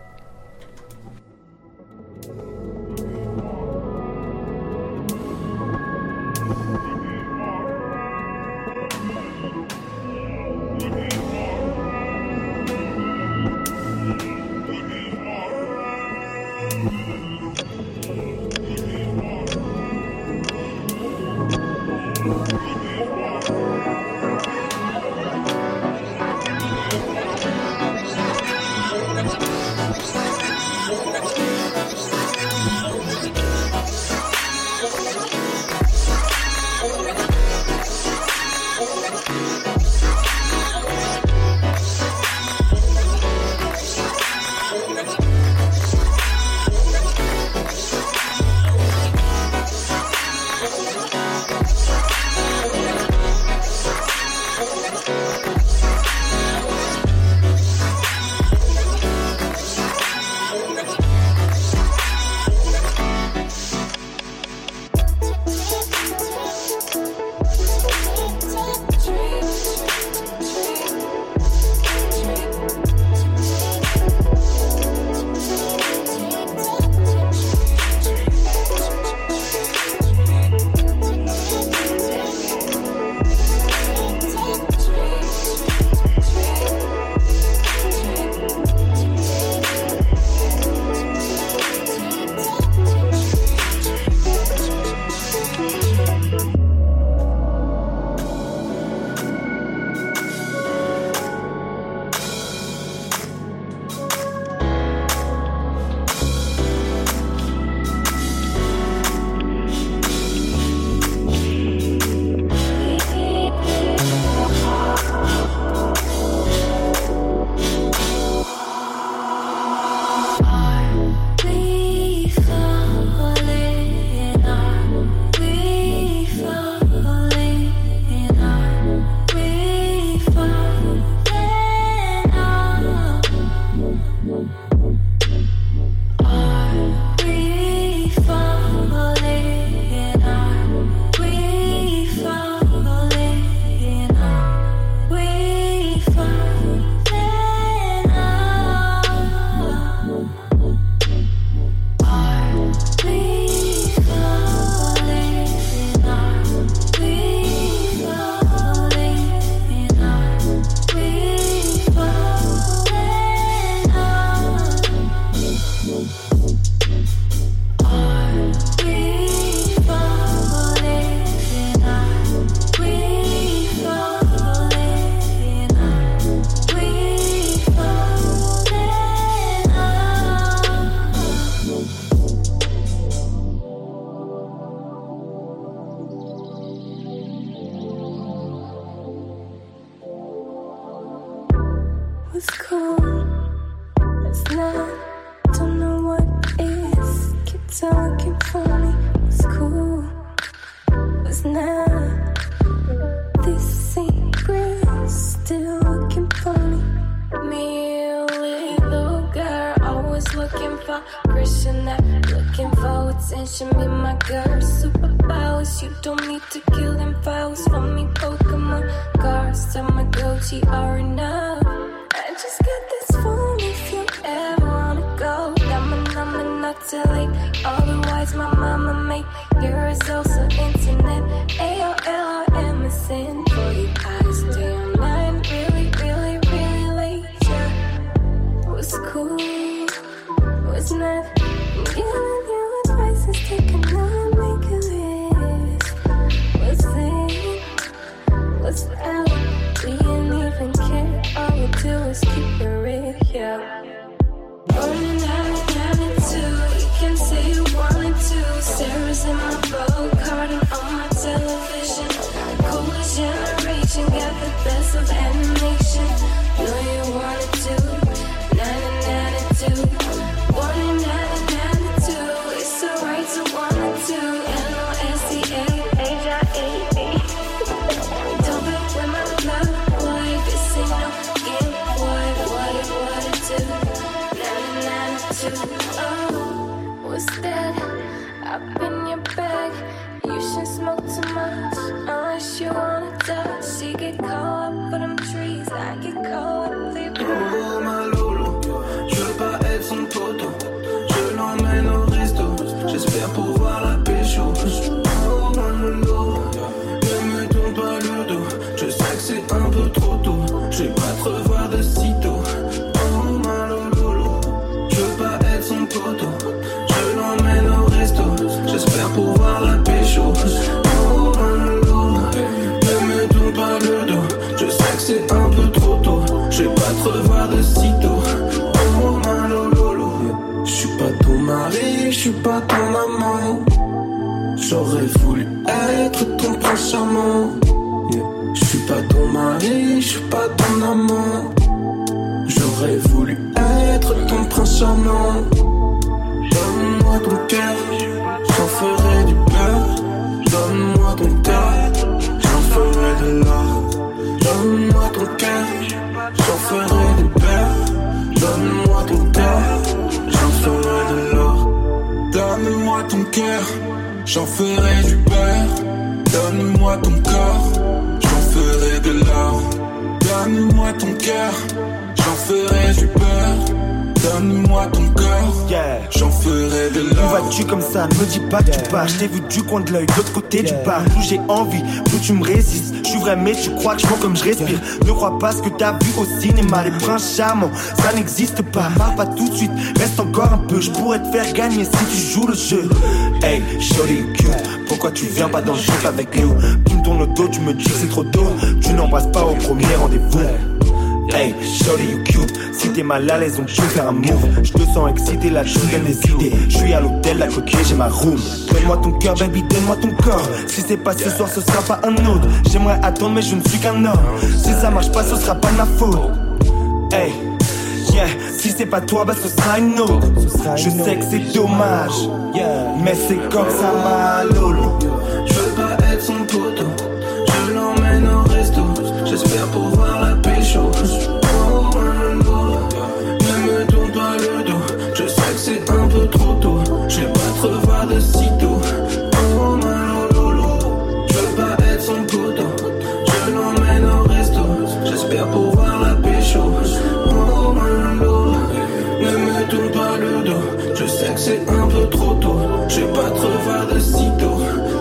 It's alright to wanna to, L-O-S-E-A, H-I-A-A. Oh, what's that? Up in your bag. You should smoke too much unless you wanna touch. She get caught up for them trees. I get caught up for your Oh ma Lolo, je veux pas être son poteau. Je l'emmène au resto. J'espère pouvoir la pécho. Oh ma Lolo, ne me tourne pas le dos. Je sais que c'est un peu trop tôt. Je vais pas te revoir de sitôt. Oh ma Lolo, je veux pas être son poteau. Je l'emmène au resto. J'espère pouvoir la pécho. Oh ma Lolo, ne me tourne pas le dos. Je sais que c'est un peu trop tôt. Je vais pas te revoir de sitôt. Oh ma Lolo, je suis pas ton mari, je suis pas ton amant. J'aurais voulu être ton prince charmant. Je suis pas ton mari, je suis pas ton amant. J'aurais voulu être ton prince charmant. Donne-moi ton cœur, j'en ferai du beurre. Donne-moi ton cœur, j'en ferai de l'or. Donne-moi ton cœur, j'en ferai du beurre. Donne-moi ton cœur, j'en ferai de l'or. Donne-moi ton cœur, j'en ferai du beurre. Donne-moi ton corps, j'en ferai de l'or. Donne-moi ton cœur, j'en ferai du beurre. Donne-moi ton corps, j'en ferai de l'or. Où vas-tu comme ça, ne me dis pas que tu pars. Je t'ai vu du coin de l'œil, de l'autre côté du bar. Plus j'ai envie, plus tu me résistes. Je suis vrai mais tu crois que je vois comme je respire. Ne crois pas ce que t'as vu au cinéma. Les princes charmants, ça n'existe pas. Parle pas tout de suite, reste encore un peu. Je pourrais te faire gagner si tu joues le jeu. Hey, shorty cute, pourquoi tu viens pas dans le jeu avec nous? Tu me tournes le dos, tu me dis que c'est trop tôt. Tu n'embrasses pas au premier rendez-vous. Hey, shorty you cute. Si t'es mal à l'aise, on peut faire un move. Je te sens excité, là tu me donnes des idées. Je suis à l'hôtel, la coquille, j'ai ma room. Donne-moi ton cœur, baby, donne-moi ton corps. Si c'est pas ce soir, ce sera pas un autre. J'aimerais attendre, mais je ne suis qu'un homme. Si ça marche pas, ce sera pas de ma faute. Hey, yeah, si c'est pas toi, bah ce sera une autre. Je sais que c'est dommage, mais c'est comme ça, ma Lolo. Je veux pas être son poteau. Je l'emmène au resto. J'espère pouvoir la pécho. Oh ma Lolo, ne me tourne pas le dos. Je sais que c'est un peu trop tôt. Je vais pas te revoir de sitôt. Oh ma Lolo, je veux pas être son poteau. Je l'emmène au resto. J'espère pouvoir la pécho. Oh ma Lolo, ne me tourne pas le dos. Je sais que c'est un peu trop tôt. Je vais pas te revoir de sitôt.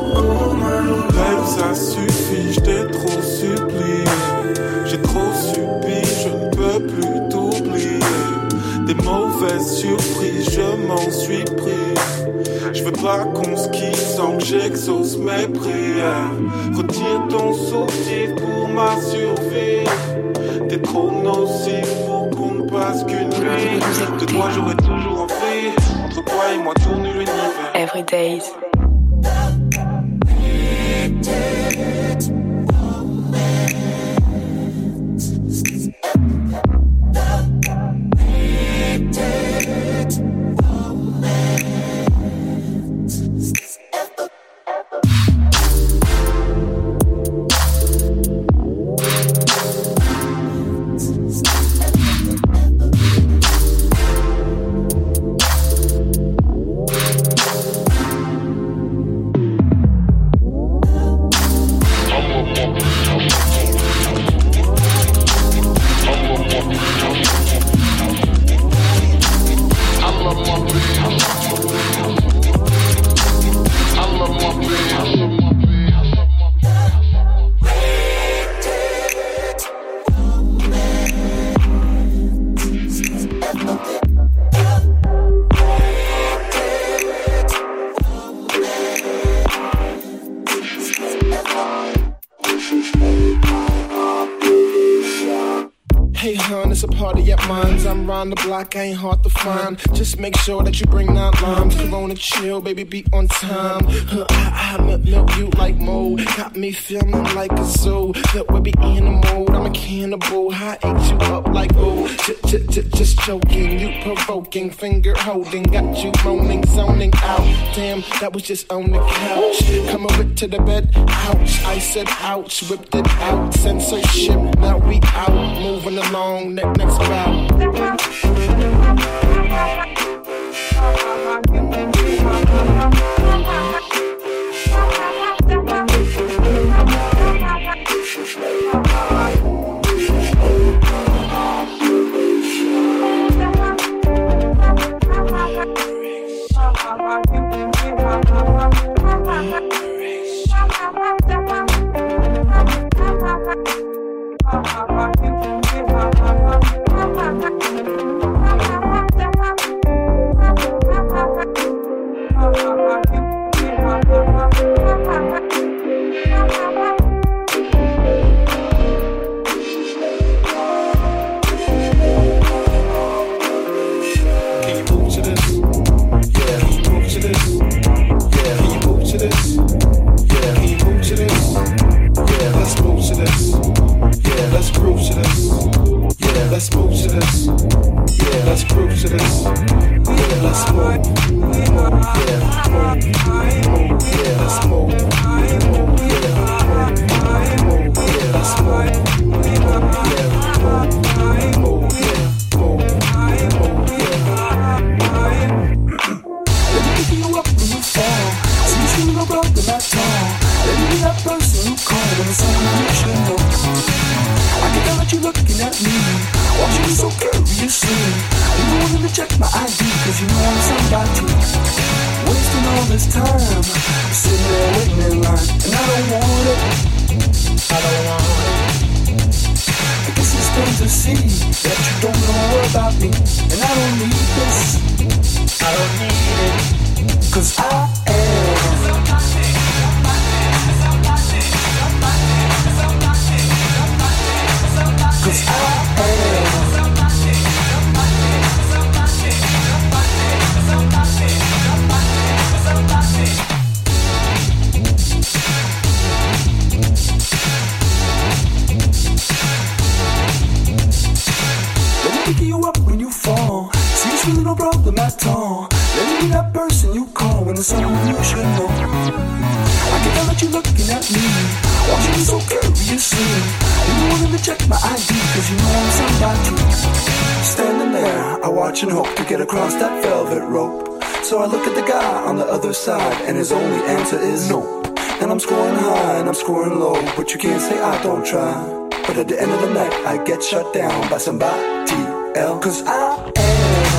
Oh ma Lolo, babe, ça suffit, je t'ai trop supplié. J'ai trop subi, je ne peux plus t'oublier. Des mauvaises surprises, je m'en suis pris. Je veux pas qu'on se quitte sans que j'exauce mes prières. Retire ton soutif pour ma survie. T'es trop nocif pour qu'on ne passe qu'une nuit. De toi j'aurais toujours envie. Entre toi et moi tourne l'univers. Every days. Hey hun, it's a party at mine's. I'm round the block, I ain't hard to find. Just make sure that you bring 9 limes. Corona chill, baby, be on time. I milk you like mold. Got me feeling like a zoo. That we be in the mode. I'm a cannibal. I ate you up like oh. Just joking, you provoking, finger holding. Got you moaning, zoning out. Damn, that was just on the couch. Come over to the bed, ouch. I said ouch, whipped it out. Censorship, now we out. Moving along, next route. to this. Yeah, let's cruise to this. Yeah, let's move. Yeah, move. Yeah, let's move. Yeah, let's move. That person who called and it's something you should know. I can tell that you're looking at me, watching so curiously. You wanted to check my ID, cause you know I'm somebody. Wasting all this time, sitting there waiting in line, and I don't want it. I don't want it. I guess it's plain to see that you don't know about me, and I don't need this. I don't need it, cause I am. Cause I am. Let me pick you up when you fall. See, it's really no problem at all. Let me be that person you call when there's someone you should know. I can tell that you're looking at me, watching me so curiously. You wanted to check my ID, cause you know I'm somebody. Standing there, I watch and hope to get across that velvet rope. So I look at the guy on the other side, and his only answer is no. And I'm scoring high and I'm scoring low, but you can't say I don't try. But at the end of the night, I get shut down by somebody else. Cause I am.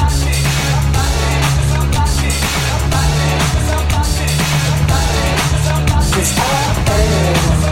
Cause I am.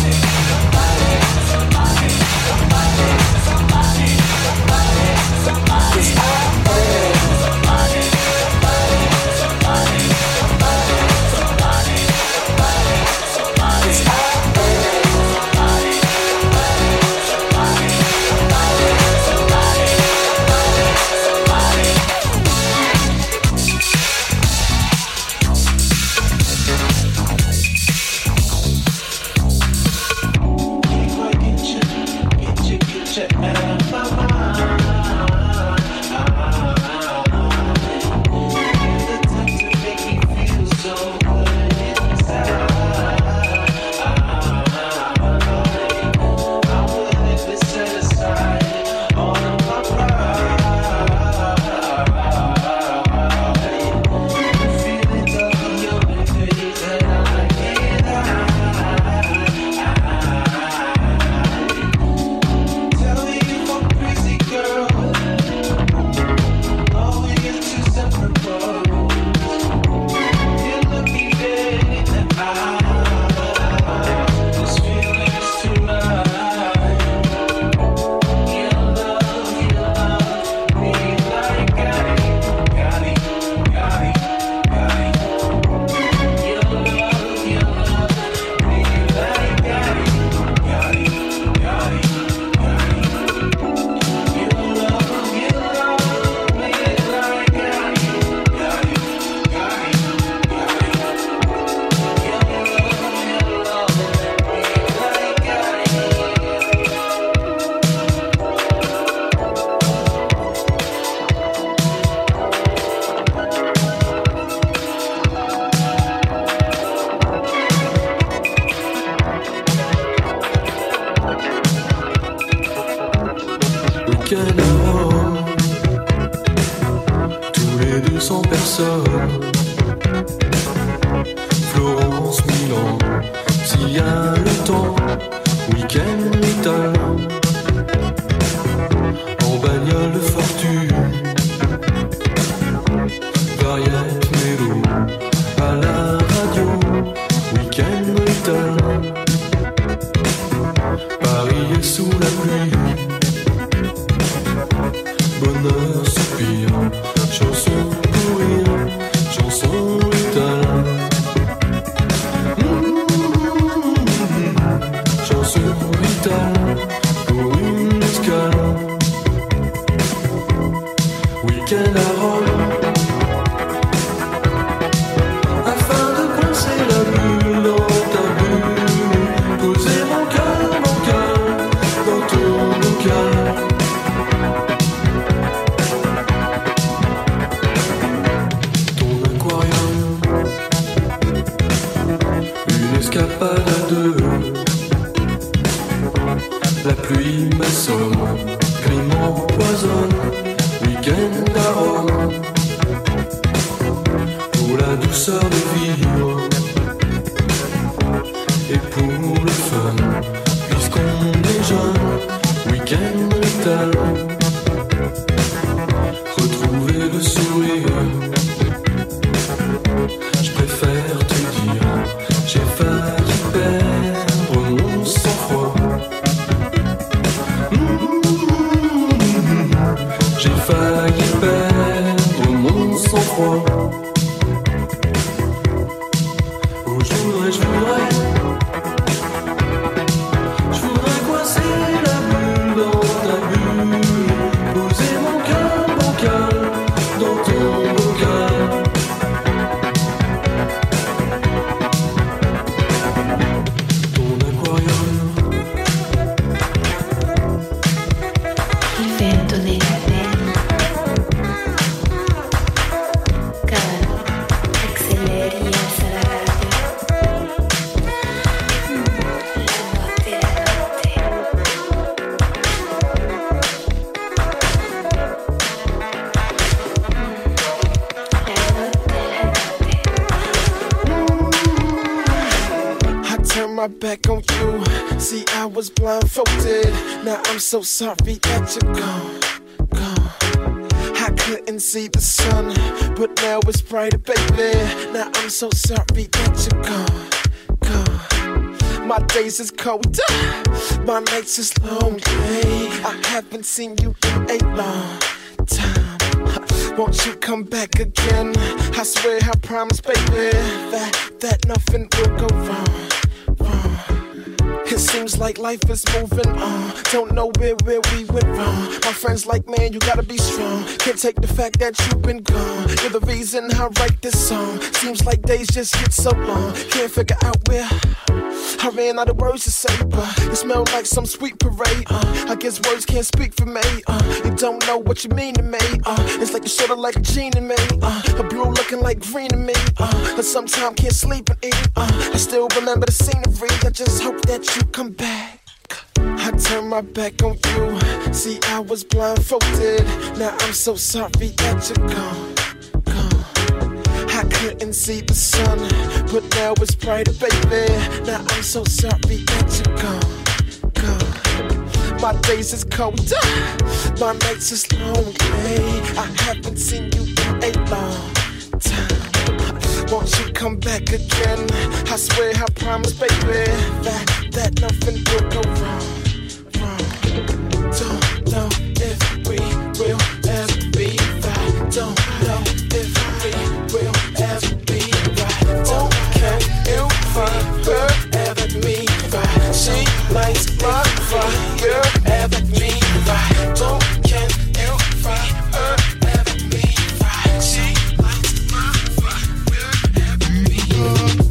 Florence, Milan, s'il y a le temps, week-end italien, en bagnole fortune, variette mélo, à la radio, week-end italien, Paris est sous la pluie, bonheur, soupir, chanson pour rire, chanson italien. Chanson italien pour une escale. Week-end à Rome, afin de coincer la bulle dans ta bulle, poser mon cœur dans ton bocal. week-end à Rome. Pour la douceur de vivre et pour le fun, puisqu'on est jeune, week-end létal. Retrouver le sourire, je préfère te dire, j'ai failli perdre mon sang-froid. J'ai failli perdre mon sang-froid. Oh, je voudrais coincer la bulle dans ta bulle, poser mon cœur bancal dans ton bocal. Ton aquarium, il fait donner la peine. Calme, accélère y accélère. I turned my back on you. See, I was blindfolded. Now I'm so sorry that you're gone, gone. I couldn't see the sun, but now it's brighter, baby. Now I'm so sorry that you're gone, gone. My days is colder, my nights is lonely. I haven't seen you in a long time. Won't you come back again? I swear I promise, baby, that nothing will go wrong. It seems like life is moving on. Don't know where we went wrong. My friends like, man, you gotta be strong. Can't take the fact that you've been gone. You're the reason I write this song. Seems like days just get so long. Can't figure out where I ran out of words to say, but it smelled like some sweet parade. I guess words can't speak for me. You don't know what you mean to me. It's like you're sorta like a gene in me. A blue looking like green to me. But sometimes can't sleep and eat. I still remember the scenery. I just hope that you come back. I turned my back on you. See, I was blindfolded. Now I'm so sorry that you're gone, gone. I couldn't see the sun, but now it's brighter, baby. Now I'm so sorry that you're gone, gone. My days is colder, my nights is lonely. I haven't seen you in a long time. Won't you come back again? I swear I promise, baby, that nothing will go wrong. Don't know if we will ever be right. Don't know if we will ever be right. Don't can you find her ever me right? She lights my fire ever me right. Don't can you find her ever me right? She lights my fire ever me right.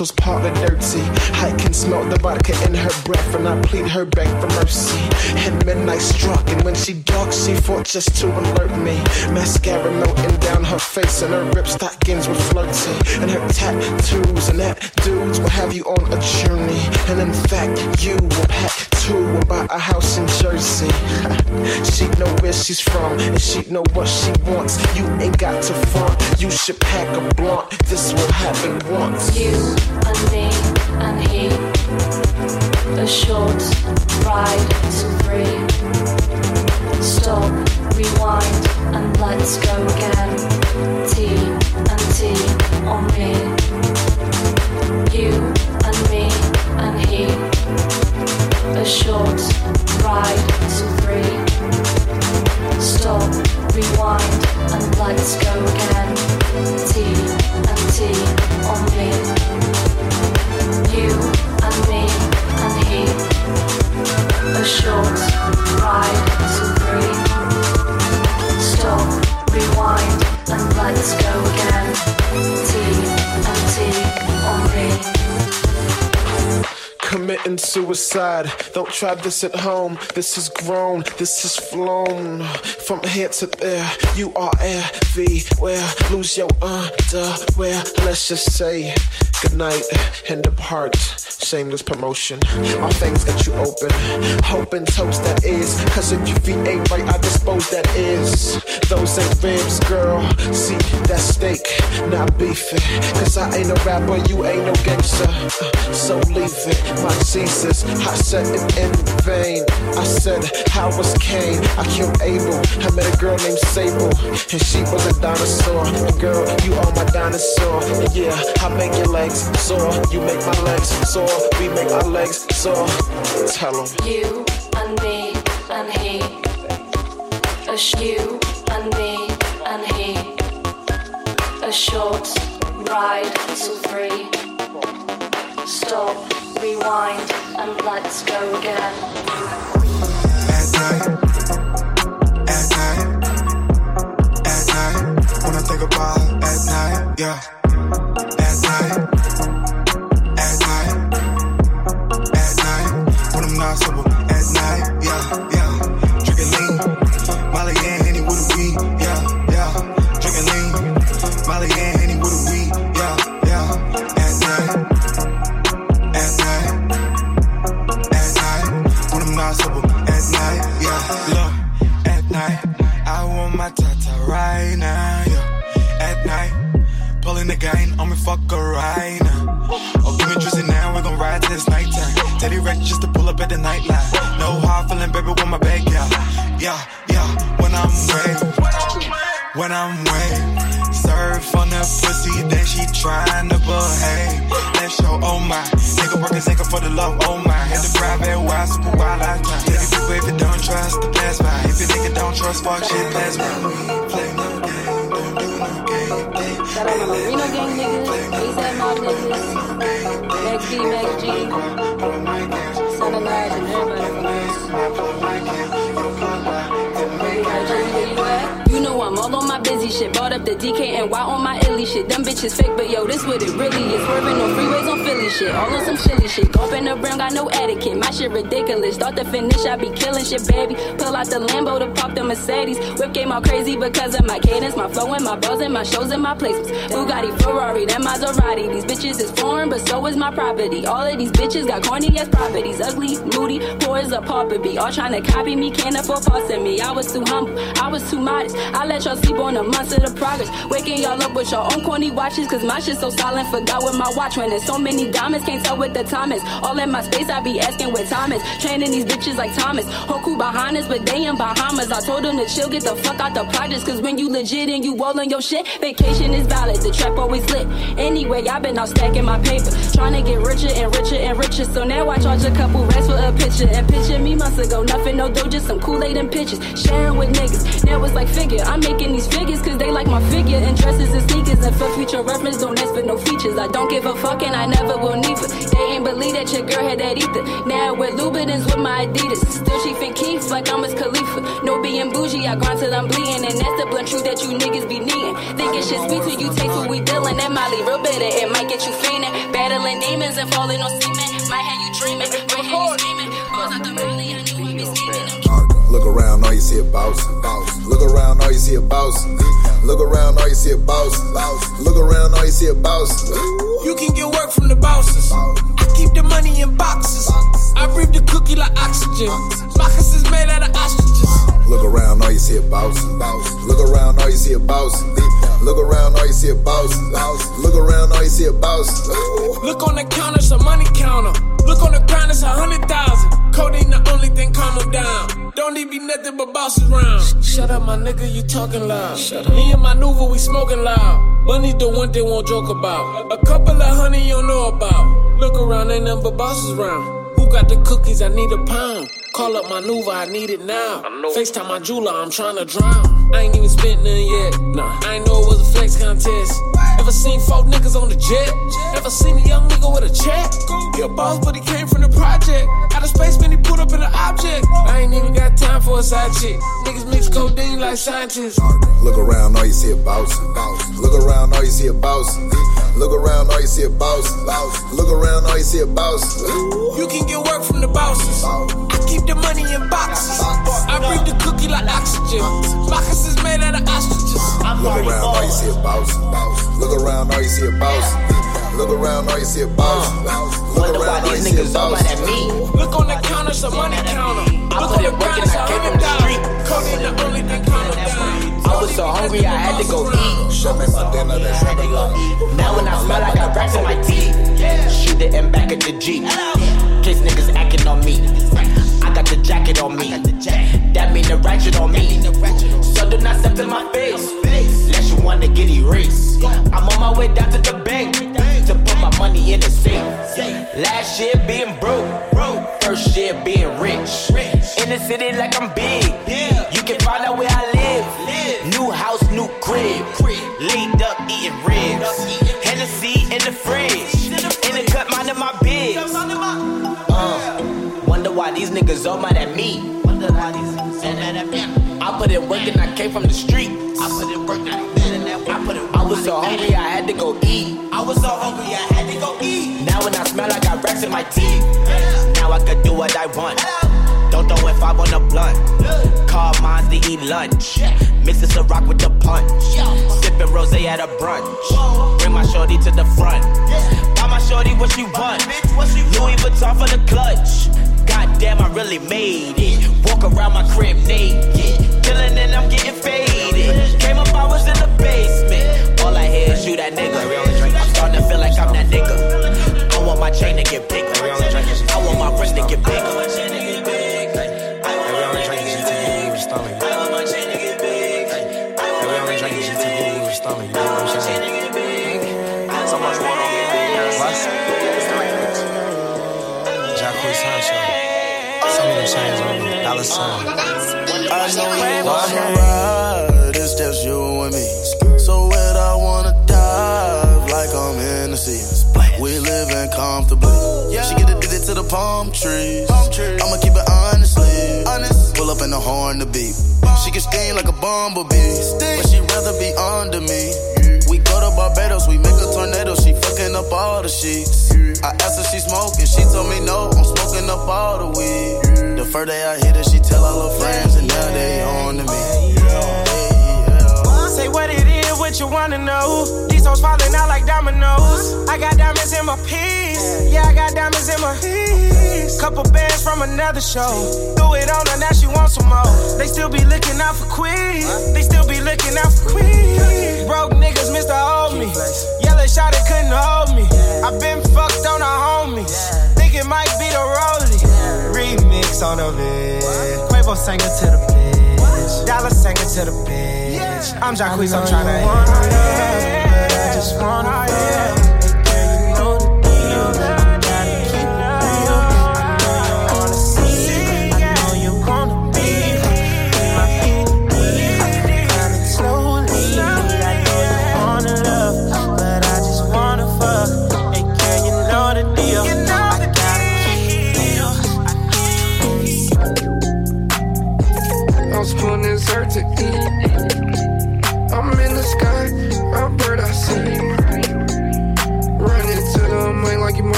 was partly dirty. I can smell the vodka in her breath, and I plead her back for mercy. And midnight struck, and when she dark, she fought just to alert me. Mascara melting down her face, and her ripped stockings were flirty. And her tattoos and that dudes will have you on a journey. And in fact, you will pack two and buy a house in Jersey. She know where she's from, and she know what she wants. You ain't got to front, you should pack a blunt. This will happen once. You and me and he, a short ride to free. Stop, rewind, and let's go again. T and T on me. You and me and he, a short ride to free. Stop, rewind, and let's go again. T and T on me. You and me and he, a short ride to free. Stop, rewind, and let's go again. T and T on me. Committing suicide, don't try this at home. This is grown, this is flown. From here to there, you are everywhere. Lose your underwear, let's just say goodnight and depart. Shameless promotion, all things got you open. Hoping toast that is, cause if your feet ain't right, I dispose that is. Those ain't ribs, girl, see that steak, not beefing. Cause I ain't a rapper, you ain't no gangster, so leave it. My Jesus, I said it in vain. I said, how was Cain? I killed Abel. I met a girl named Sable, and she was a dinosaur. And girl, you are my dinosaur. And yeah, I make your legs sore. You make my legs sore. We make our legs sore. Tell 'em. You and me and he. You and me and he. A short ride to free. Stop, rewind, and let's go again. At night, when I think about at night, yeah. At night, when I'm not sober. At night, yeah. Drinking lean, Molly and Henny with a weed, yeah. Drinking lean, Molly and Henny with a weed, yeah. At night, when I'm not sober. At night, yeah. Look, at night, I want my tata right now, yeah. At night, pulling the gang on me, fuck her right now. Oh, give me drizzy now, we gon' ride till it's nighttime. Teddy Rex just to pull up at the nightline. No hard feeling, baby, with my bag, yeah. When I'm way, surf on the pussy, then she tryna behave. Let's show, oh my, nigga working single for the love, oh my. Had the private wild, super wild lifetime. Tell you people if you don't trust, the pass by. If you nigga don't trust, fuck shit, pass by. We play no game, don't do no game. Shout out my Reno gang niggas, ASAP Mob niggas, Max B, Max G, Son of Lodge, and everybody from us. You know I'm all on my busy shit. Bought up the DKNY on my illy shit. Them bitches fake, but yo, this what it really is. Swerving on freeways on Philly shit. All on some chilly shit. Golfing the brown, got no etiquette. My shit ridiculous. Start to finish, I be killing shit, baby. Pull out the Lambo to pop the Mercedes. Whip game all crazy because of my cadence, my flow and my bars and my shows and my placements. Bugatti, Ferrari, that Maserati. These bitches is foreign, but so is my property. All of these bitches got corny ass properties. Ugly, moody, poor as a pauper be. All trying to copy me, can't afford passing me. I was too humble, I was too modest. I let y'all sleep on a month of the progress. Waking y'all up with your own corny watches, cause my shit so silent, forgot what my watch when there's so many diamonds, can't tell what the time is. All in my space, I be asking what time is. Training these bitches like Thomas. Hoku behind us, but they in Bahamas. I told them to chill, get the fuck out the projects, cause when you legit and you rolling your shit, vacation is valid, the trap always lit. Anyway, I been out stacking my paper, trying to get richer and richer and richer. So now I charge a couple racks for a picture. And picture me months ago, nothing, no dough, just some Kool-Aid and pictures. Sharing with niggas, now it's like figure. I'm making these figures cause they like my figure. And dresses and sneakers, and for future reference, don't ask for no features. I don't give a fuck and I never will neither. They ain't believe that your girl had that either. Now I wear Louboutins with my Adidas. Still she think Keith like I'm his Khalifa. No being being bougie, I grind till I'm bleeding. And that's the blunt truth that you niggas be needing. Thinking shit sweet till you taste what we dealing. That Molly real bitter, it might get you fiending. Battling demons and falling on semen. Might have you dreaming, might have you screaming. Balls out the rollie, I knew I be scheming. Look around, all you see a boss. Look around, all you see a boss. Look around, all you see a boss. Look around, all you see a boss. You can get work from the bosses. I keep the money in boxes. I breathe the cookie like oxygen. Marcus is made out of ostriches. Look around, all you see a boss. Look around, all you see a boss. Look around, all you see a boss. Look around, all you see a boss. Look on the counter, it's a money counter. Look on the ground, it's 100,000. Codeine the only thing calm them down. Don't need be nothing but bosses round. Shut up, my nigga, you talking loud. Me and my Nuva, we smoking loud. Money's the one thing won't joke about. A couple of honey you don't know about. Look around, ain't nothing but bosses round. Who got the cookies? I need a pound. Call up my Nuva, I need it now. FaceTime my jeweler, I'm trying to drown. I ain't even spent none yet. Nah, I ain't know it was a flex contest. Ever seen 4 niggas on the jet? Ever seen a young nigga with a check? He a boss, but he came from the project. Out of space, man, he put up in an object. I ain't even got time for a side chick. Niggas mix codeine like scientists. Look around, all you see a boss. Look around, all you see a boss. Look around, all you see a boss. Look around, all you see a boss. You can get work from the bosses. I keep the money in boxes. I breathe the cookie like oxygen. Marcus is made out of ostriches. Look around, all you see a boss. Look around, all you see a boss. Look around, all you see a boss. Look around, all you see a boss. Look on the counter, it's a money counter. Look on the ground, it's 100,000. Codeine the only thing calm them down. I was so hungry, I had to go eat. Show me my dinner, that's ready. Now when I smell, I got racks in my teeth. Shoot it and back at the Jeep. Case niggas acting on me. I got the jacket on me. That mean the ratchet on me. So do not step in my face. Unless you wanna get erased. I'm on my way down to the bank to put my money in the safe. Last year being broke. First year being rich. In the city like I'm big. You can find out where I live. New house, new crib. Laid up eating ribs. Hennessy in the fridge. In the cut, minding my biz. Wonder why these niggas all mad at me. I put in work and I came from the streets. I was so hungry I had to go eat. Now when I smell I got racks in my teeth. Now I could do what I want. Don't throw if I want a blunt. Call mines to eat lunch. Mix this a rock with the punch. Sippin' rosé at a brunch. Bring my shorty to the front. Buy my shorty what she want. Louis Vuitton for the clutch. Goddamn, I really made it. Walk around my crib naked. Chillin' and I'm getting faded. Came up, I was in the basement. All I hear is you that nigga. I'm starting to feel like I'm that nigga. I want my chain to get bigger. I want my wrist to get bigger. I know you wanna ride, it's just you and me. So where I wanna dive, like I'm in the sea. We living comfortably. She get addicted to the palm trees. I'ma keep it honestly. Pull up in the horn to beat. She can sting like a bumblebee, but she'd rather be under me. We go to Barbados, we make a tornado. She fucking up all the sheets. I asked her she smoking, she told me no. I'm smoking up all the weed. The first day I hit her, she tell all her friends, and now they on to me. Say what it is, what you wanna know. These hoes falling out like dominoes. I got diamonds in my piece. Yeah, I got diamonds in my piece. Couple bands from another show. Threw it on her, now she wants some more. They still be looking out for Queen. They still be looking out for Queen. Broke niggas, Mr. Hold Me. Yellow shot, it couldn't hold me. I been fucked on the homies. Think it might be the rollie. Remix on the bitch. Quavo sang it to the bitch. Dollar sang it to the bitch. I'm Jacquees, I'm tryna but I just wanna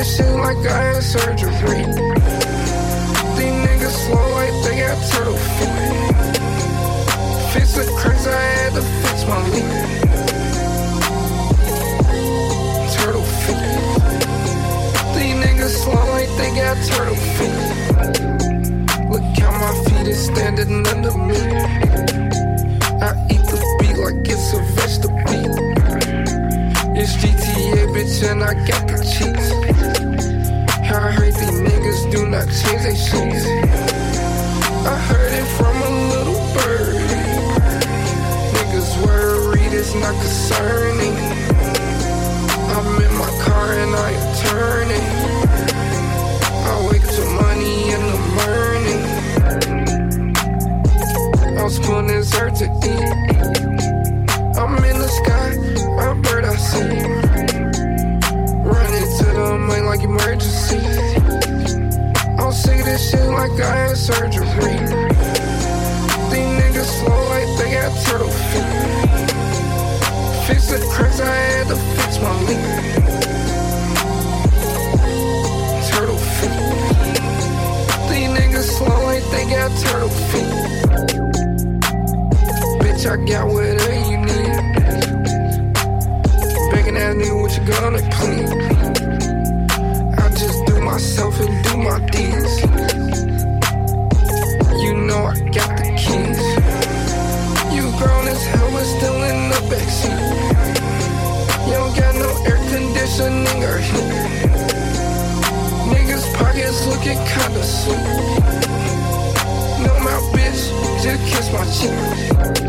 this shit like I had surgery. These niggas slow like they got turtle feet. Fix the cracks, I had to fix my leak. Turtle feet. These niggas slow like they got turtle feet. Look how my feet is standing under me. I eat the beat like it's a vegetable. It's GTA, bitch, and I got the cheats. I heard these niggas do not change their sheets. I heard it from a little bird. Niggas worried, it's not concerning. I'm in my car and I am turning. I wake up to money in the morning. I was putting dessert to eat. I'm in the sky, a bird I see. Running to the main like emergency. I'm sick of this shit like I had surgery. These niggas slow like they got turtle feet. Fix the cracks, I had to fix my leak. Turtle feet. These niggas slow like they got turtle feet. Bitch, I got whatever you need. Begging that nigga what you gonna clean. I just do myself and do my deeds. You know I got the keys. You grown as hell but still in the backseat. You don't got no air conditioning or heat. Niggas pockets looking kinda sweet. No mouth bitch, just kiss my cheek.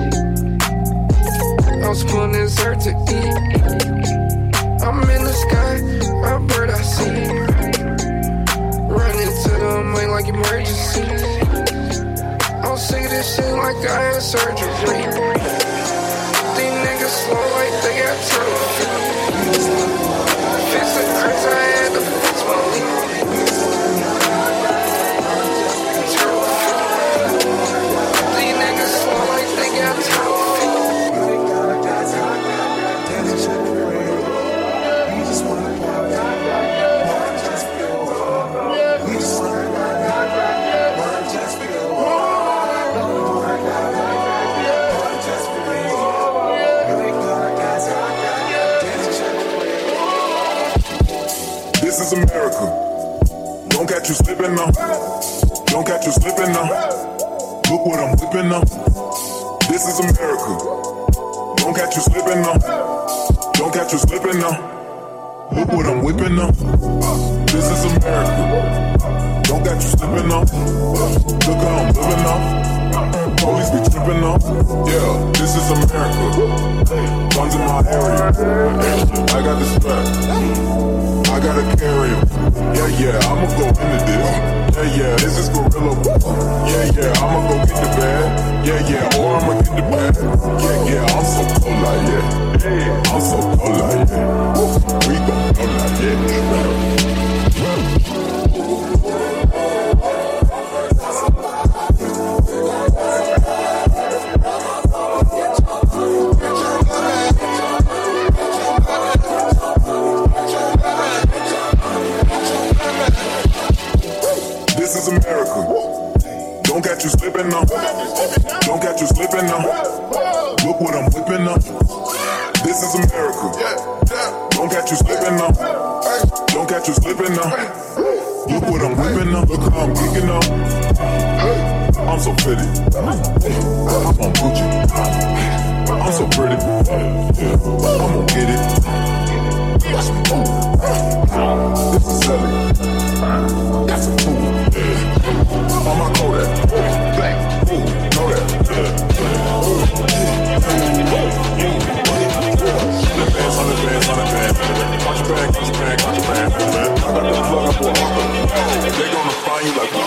I was putting dessert to eat. I'm in the sky, a bird I see. Running to the main like emergency. I'm sick of this shit like I had surgery. These niggas slow like they got turtle feet. Fix the cracks, I had to fix my leak. Turtle feet. These niggas slow like they got turtle feet. This is America. Don't catch you slipping now. Don't catch you slipping now. Look what I'm whipping now. This is America. Don't catch you slipping now. Don't catch you slipping now. Look what I'm whipping now. This is America. Don't catch you slipping now. Look how I'm living now. Police be tripping now. Yeah, this is America. Guns in my area. I got the strap. I gotta carry him. Yeah, I'ma go into this. Yeah, this is gorilla. Yeah, I'ma go get the bag. Yeah, or I'ma get the bag. Yeah, I'm so cold like yeah. I'm so cold like yeah. We gon' go like yeah. This is America. Don't catch you slipping now. Don't catch you slipping now. Look what I'm whipping now. This is America. Don't catch you slipping now. Don't catch you slipping now. Look what I'm whipping now. Look how I'm kicking now. I'm so pretty. I'm on Gucci. I'm so pretty. I'm gonna get it. This is selling. Got some food. On my Kodak. Black. Ooh, know that. Watch your bag, watch your bag, watch your bag. I got the plug up for a hawker. They gonna find you like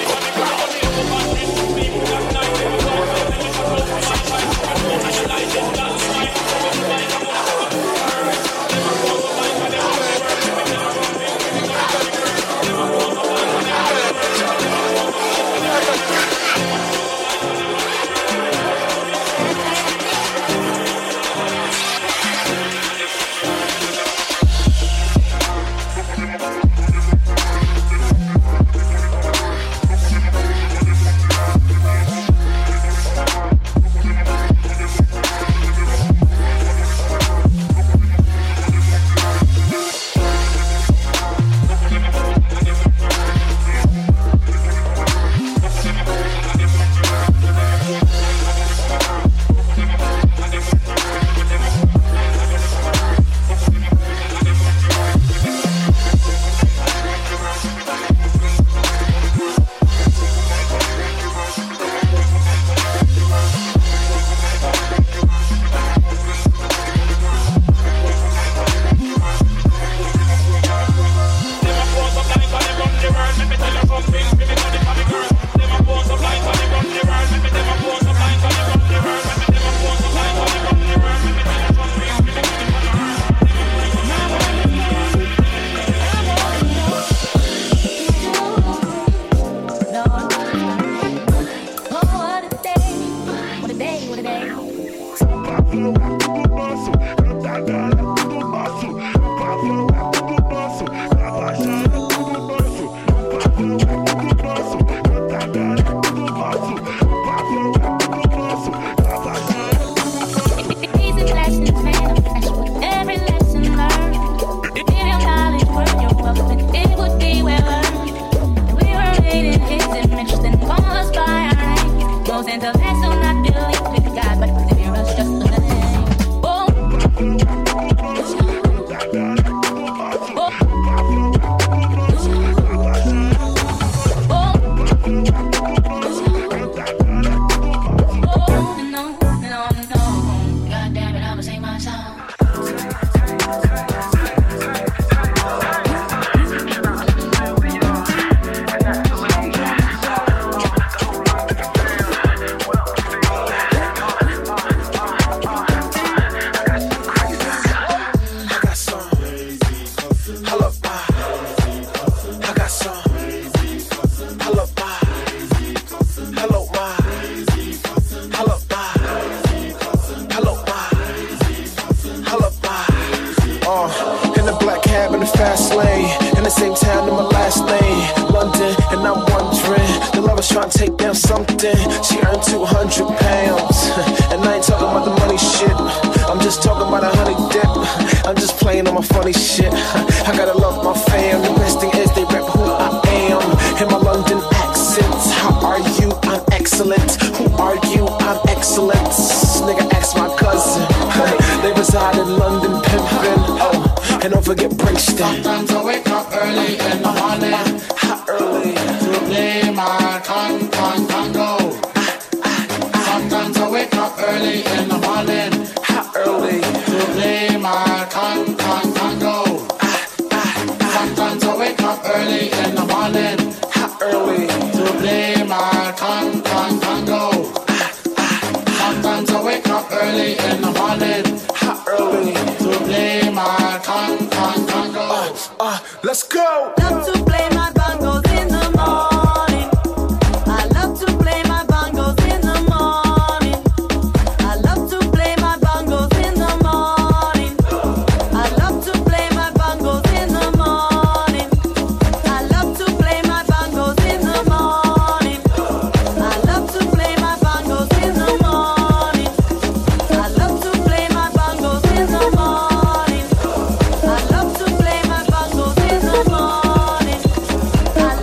in the same town in my last name, London, and I'm wondering, the lover's trying to take down something. She earned 200 pounds, and I ain't talking about the money shit. I'm just talking about a honey dip. I'm just playing on my funny shit. I gotta love my fam. The best thing is they rap who I am. In my London accent. How are you? I'm excellent. Who are you? I'm excellent. Nigga, ask my cousin. They reside in London, pimpin'. Oh, and don't forget Princeton. Sometimes I wake up early in the morning. How early? To play my Congo. Sometimes I wake up early in the morning. How early? To play my Congo. Sometimes I wake up early in the morning. How early? To play my Congo. Sometimes I wake up early in the morning. How early? To play my Congo. Let's go. Love to play my bongos in the morning. I love to play my bongos in the morning. I love to play my bongos in the morning. I love to play my bongos in the morning. I love to play my bongos in the morning. I love to play my bongos in the morning. I love to play my bongos in the morning. I love to play my bongos in the morning. I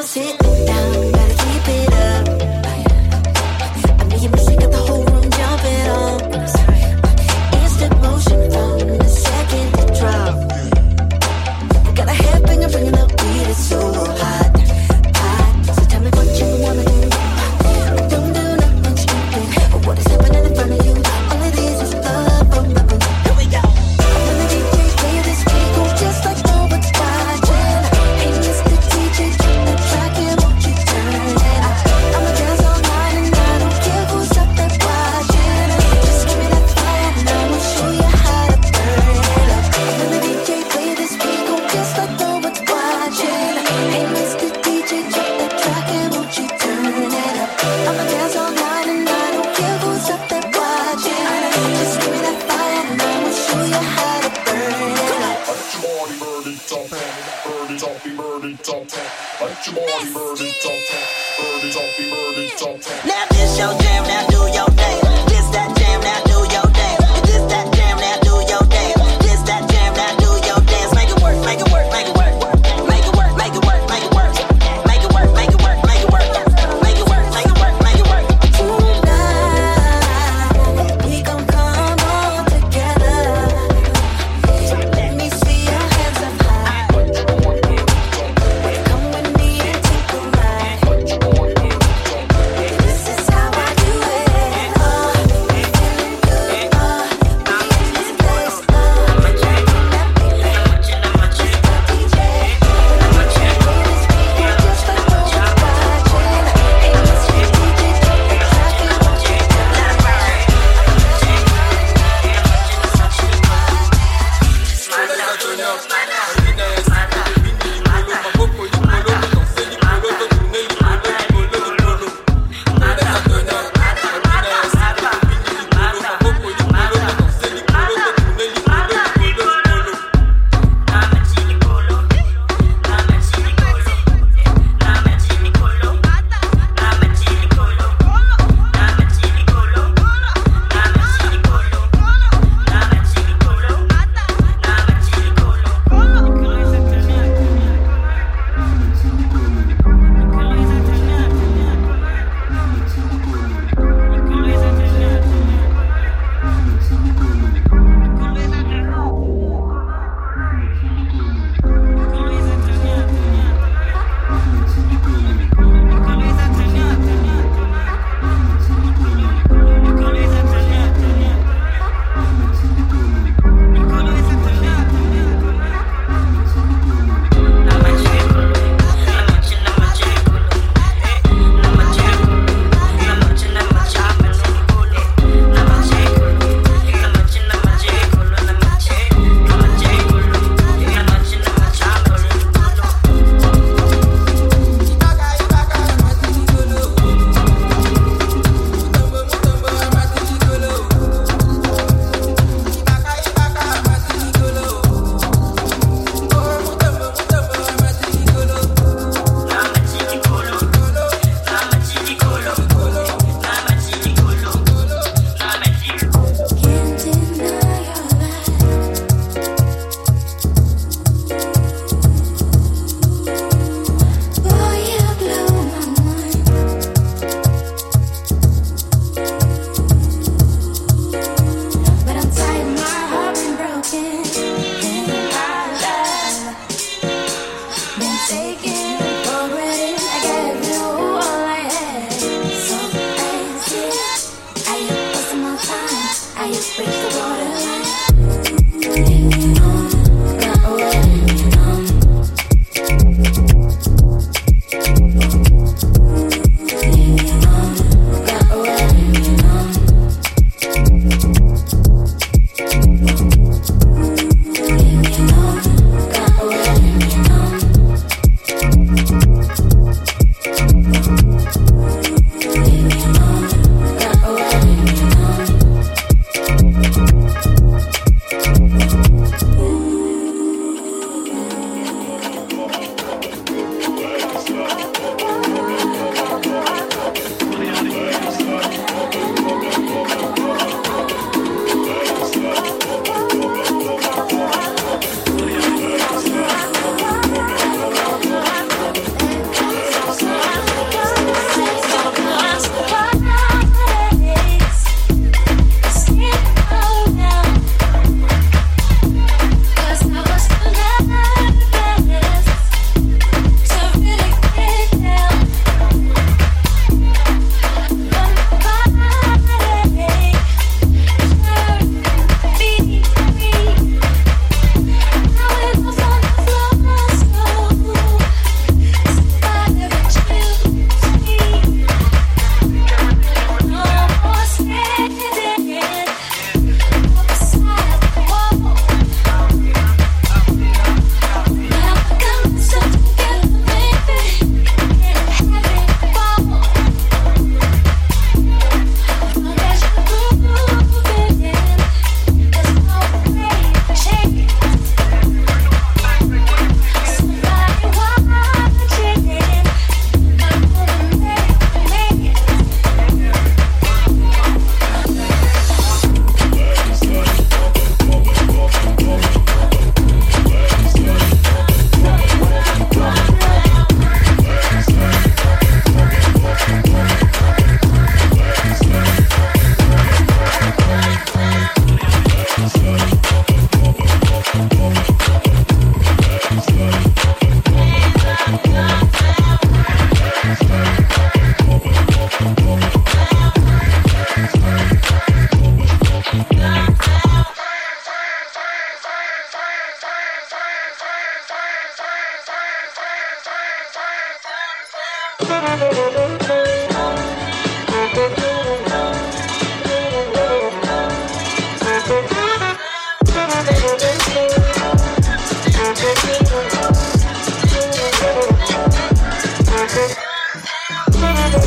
sit down, gotta keep it up. I know you miss it, got the whole room jumping on. Instant motion from the second it drop. Got a headbanger bringing the beat, it's so hot, hot. So tell me what you wanna do. Don't do nothing stupid. What is happening in front of you? All it is love, boom, boom, boom. Here we go. When the DJ play this beat, go just like no one's watching. Hey, Mr. DJ, drop the track and won't you turn it up? I'ma dance all night and I don't care who's up there watching. Just give me that fire and I'ma show you how to burn it up. When the DJ play this beat, go just like no one's watching. Hey, Mr. DJ, drop the track and won't you turn it up? I'ma dance all night and I don't care who's up there watching. Just give me that fire and I'ma show you how to burn it up. Now this your jam, now do your thing. This that jam, now do your dance. This that jam, now do your dance. This that jam, now do your dance. Make it work, make it work, make it work. Make it work, make it work, make it work. Make it work, make it work, make it work. Make it work, make it work, make it work. Tonight, we gon' come all together. Let me see your hands up high. Come with me and take a ride. This is how I do it. Oh, feeling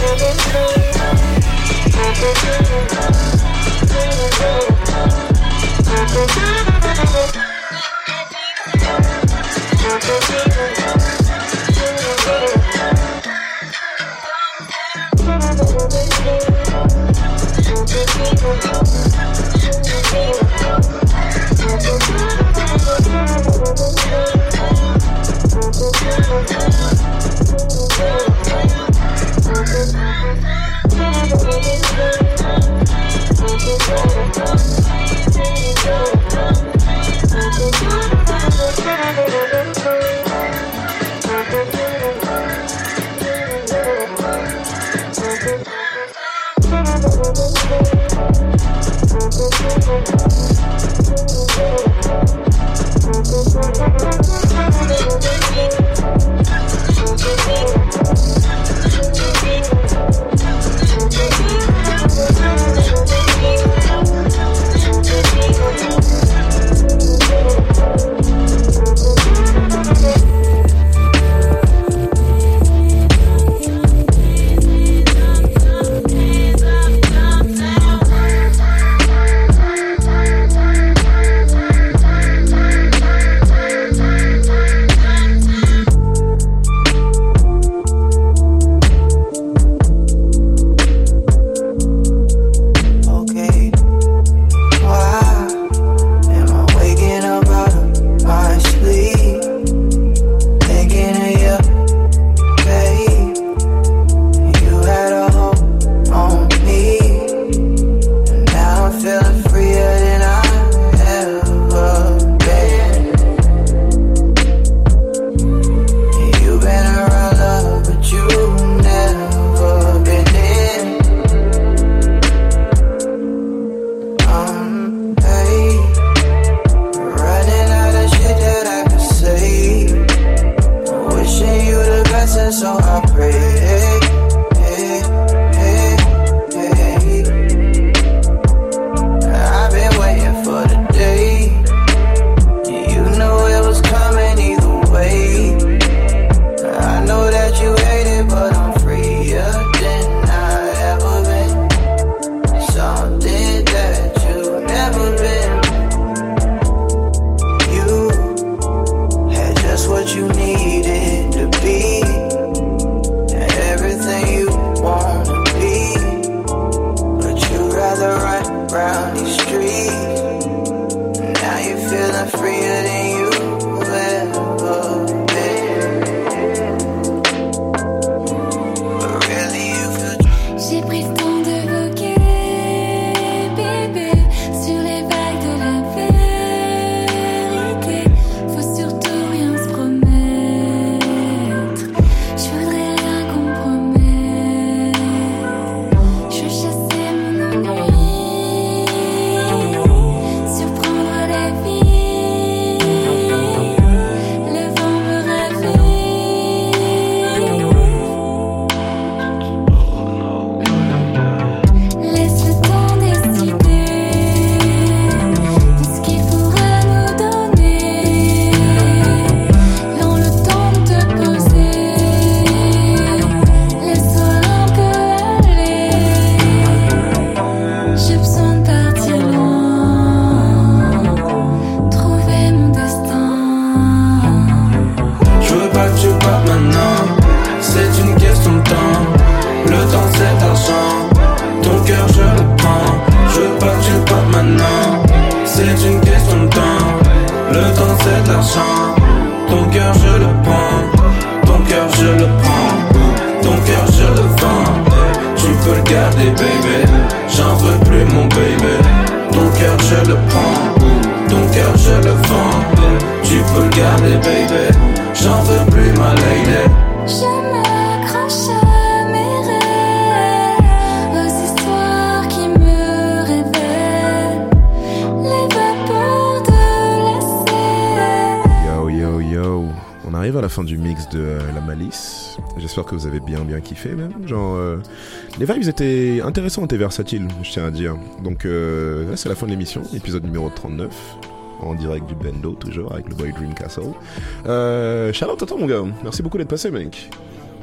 J'espère que vous avez bien kiffé même. Genre, les vibes étaient intéressantes et versatiles, je tiens à dire. Donc là c'est la fin de l'émission, épisode numéro 39, en direct du Bendo, toujours avec le boy Dream Castle. Shout out à toi mon gars, merci beaucoup d'être passé mec.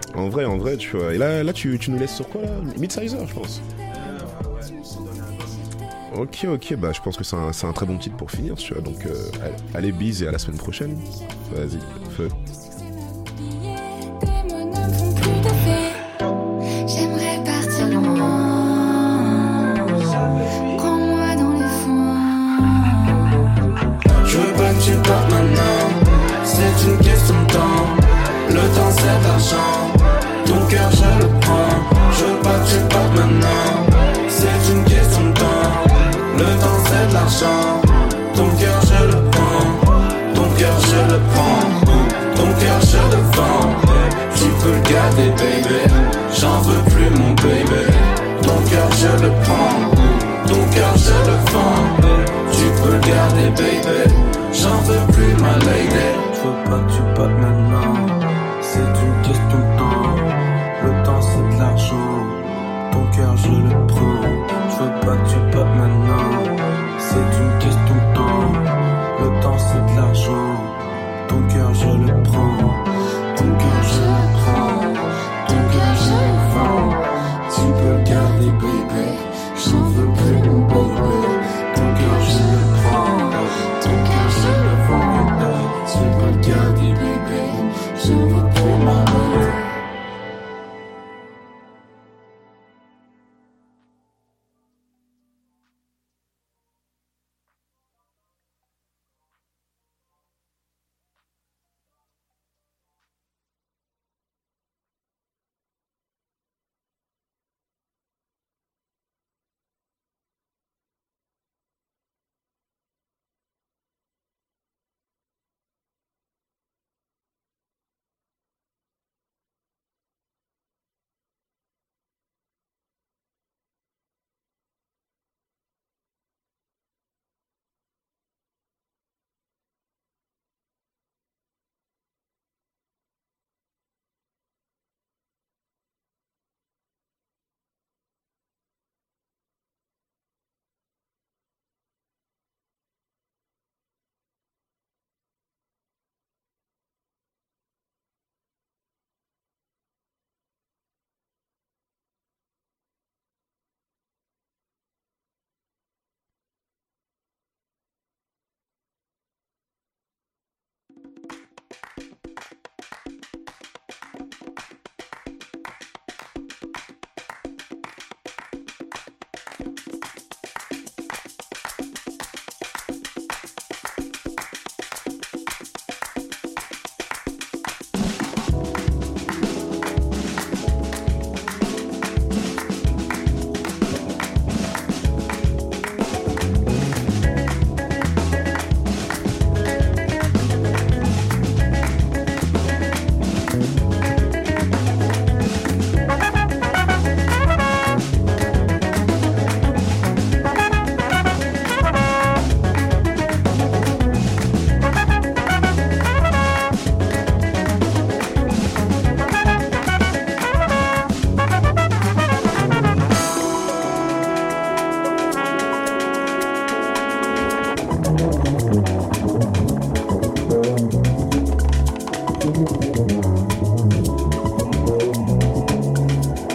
En vrai, tu vois. Et là tu nous laisses sur quoi là? Midsizer, je pense. Ok, bah je pense que c'est un très bon titre pour finir, tu vois. Donc allez, bise et à la semaine prochaine. Vas-y, feu. J'aimerais partir loin. Prends-moi dans les foins. Je veux pas que tu partes maintenant. C'est une question de temps. Le temps c'est de l'argent. Ton cœur je le prends. Je veux pas que tu partes maintenant. C'est une question de temps. Le temps c'est de l'argent. Ton cœur je le prends. Ton cœur je le prends. Ton cœur je le vends. Tu peux le garder baby. J'en veux plus mon baby. Ton cœur je le prends. Ton cœur je le vends. Tu peux le garder baby. J'en veux plus ma lady. Je veux pas que tu partes maintenant. C'est une question de temps. Le temps c'est de l'argent. Ton cœur je le prends. Je veux pas que tu partes maintenant. C'est une question de temps. Le temps c'est de l'argent. Ton cœur je le prends. Ton cœur je le prends. Ton cœur je le vends. Tu peux le garder baby.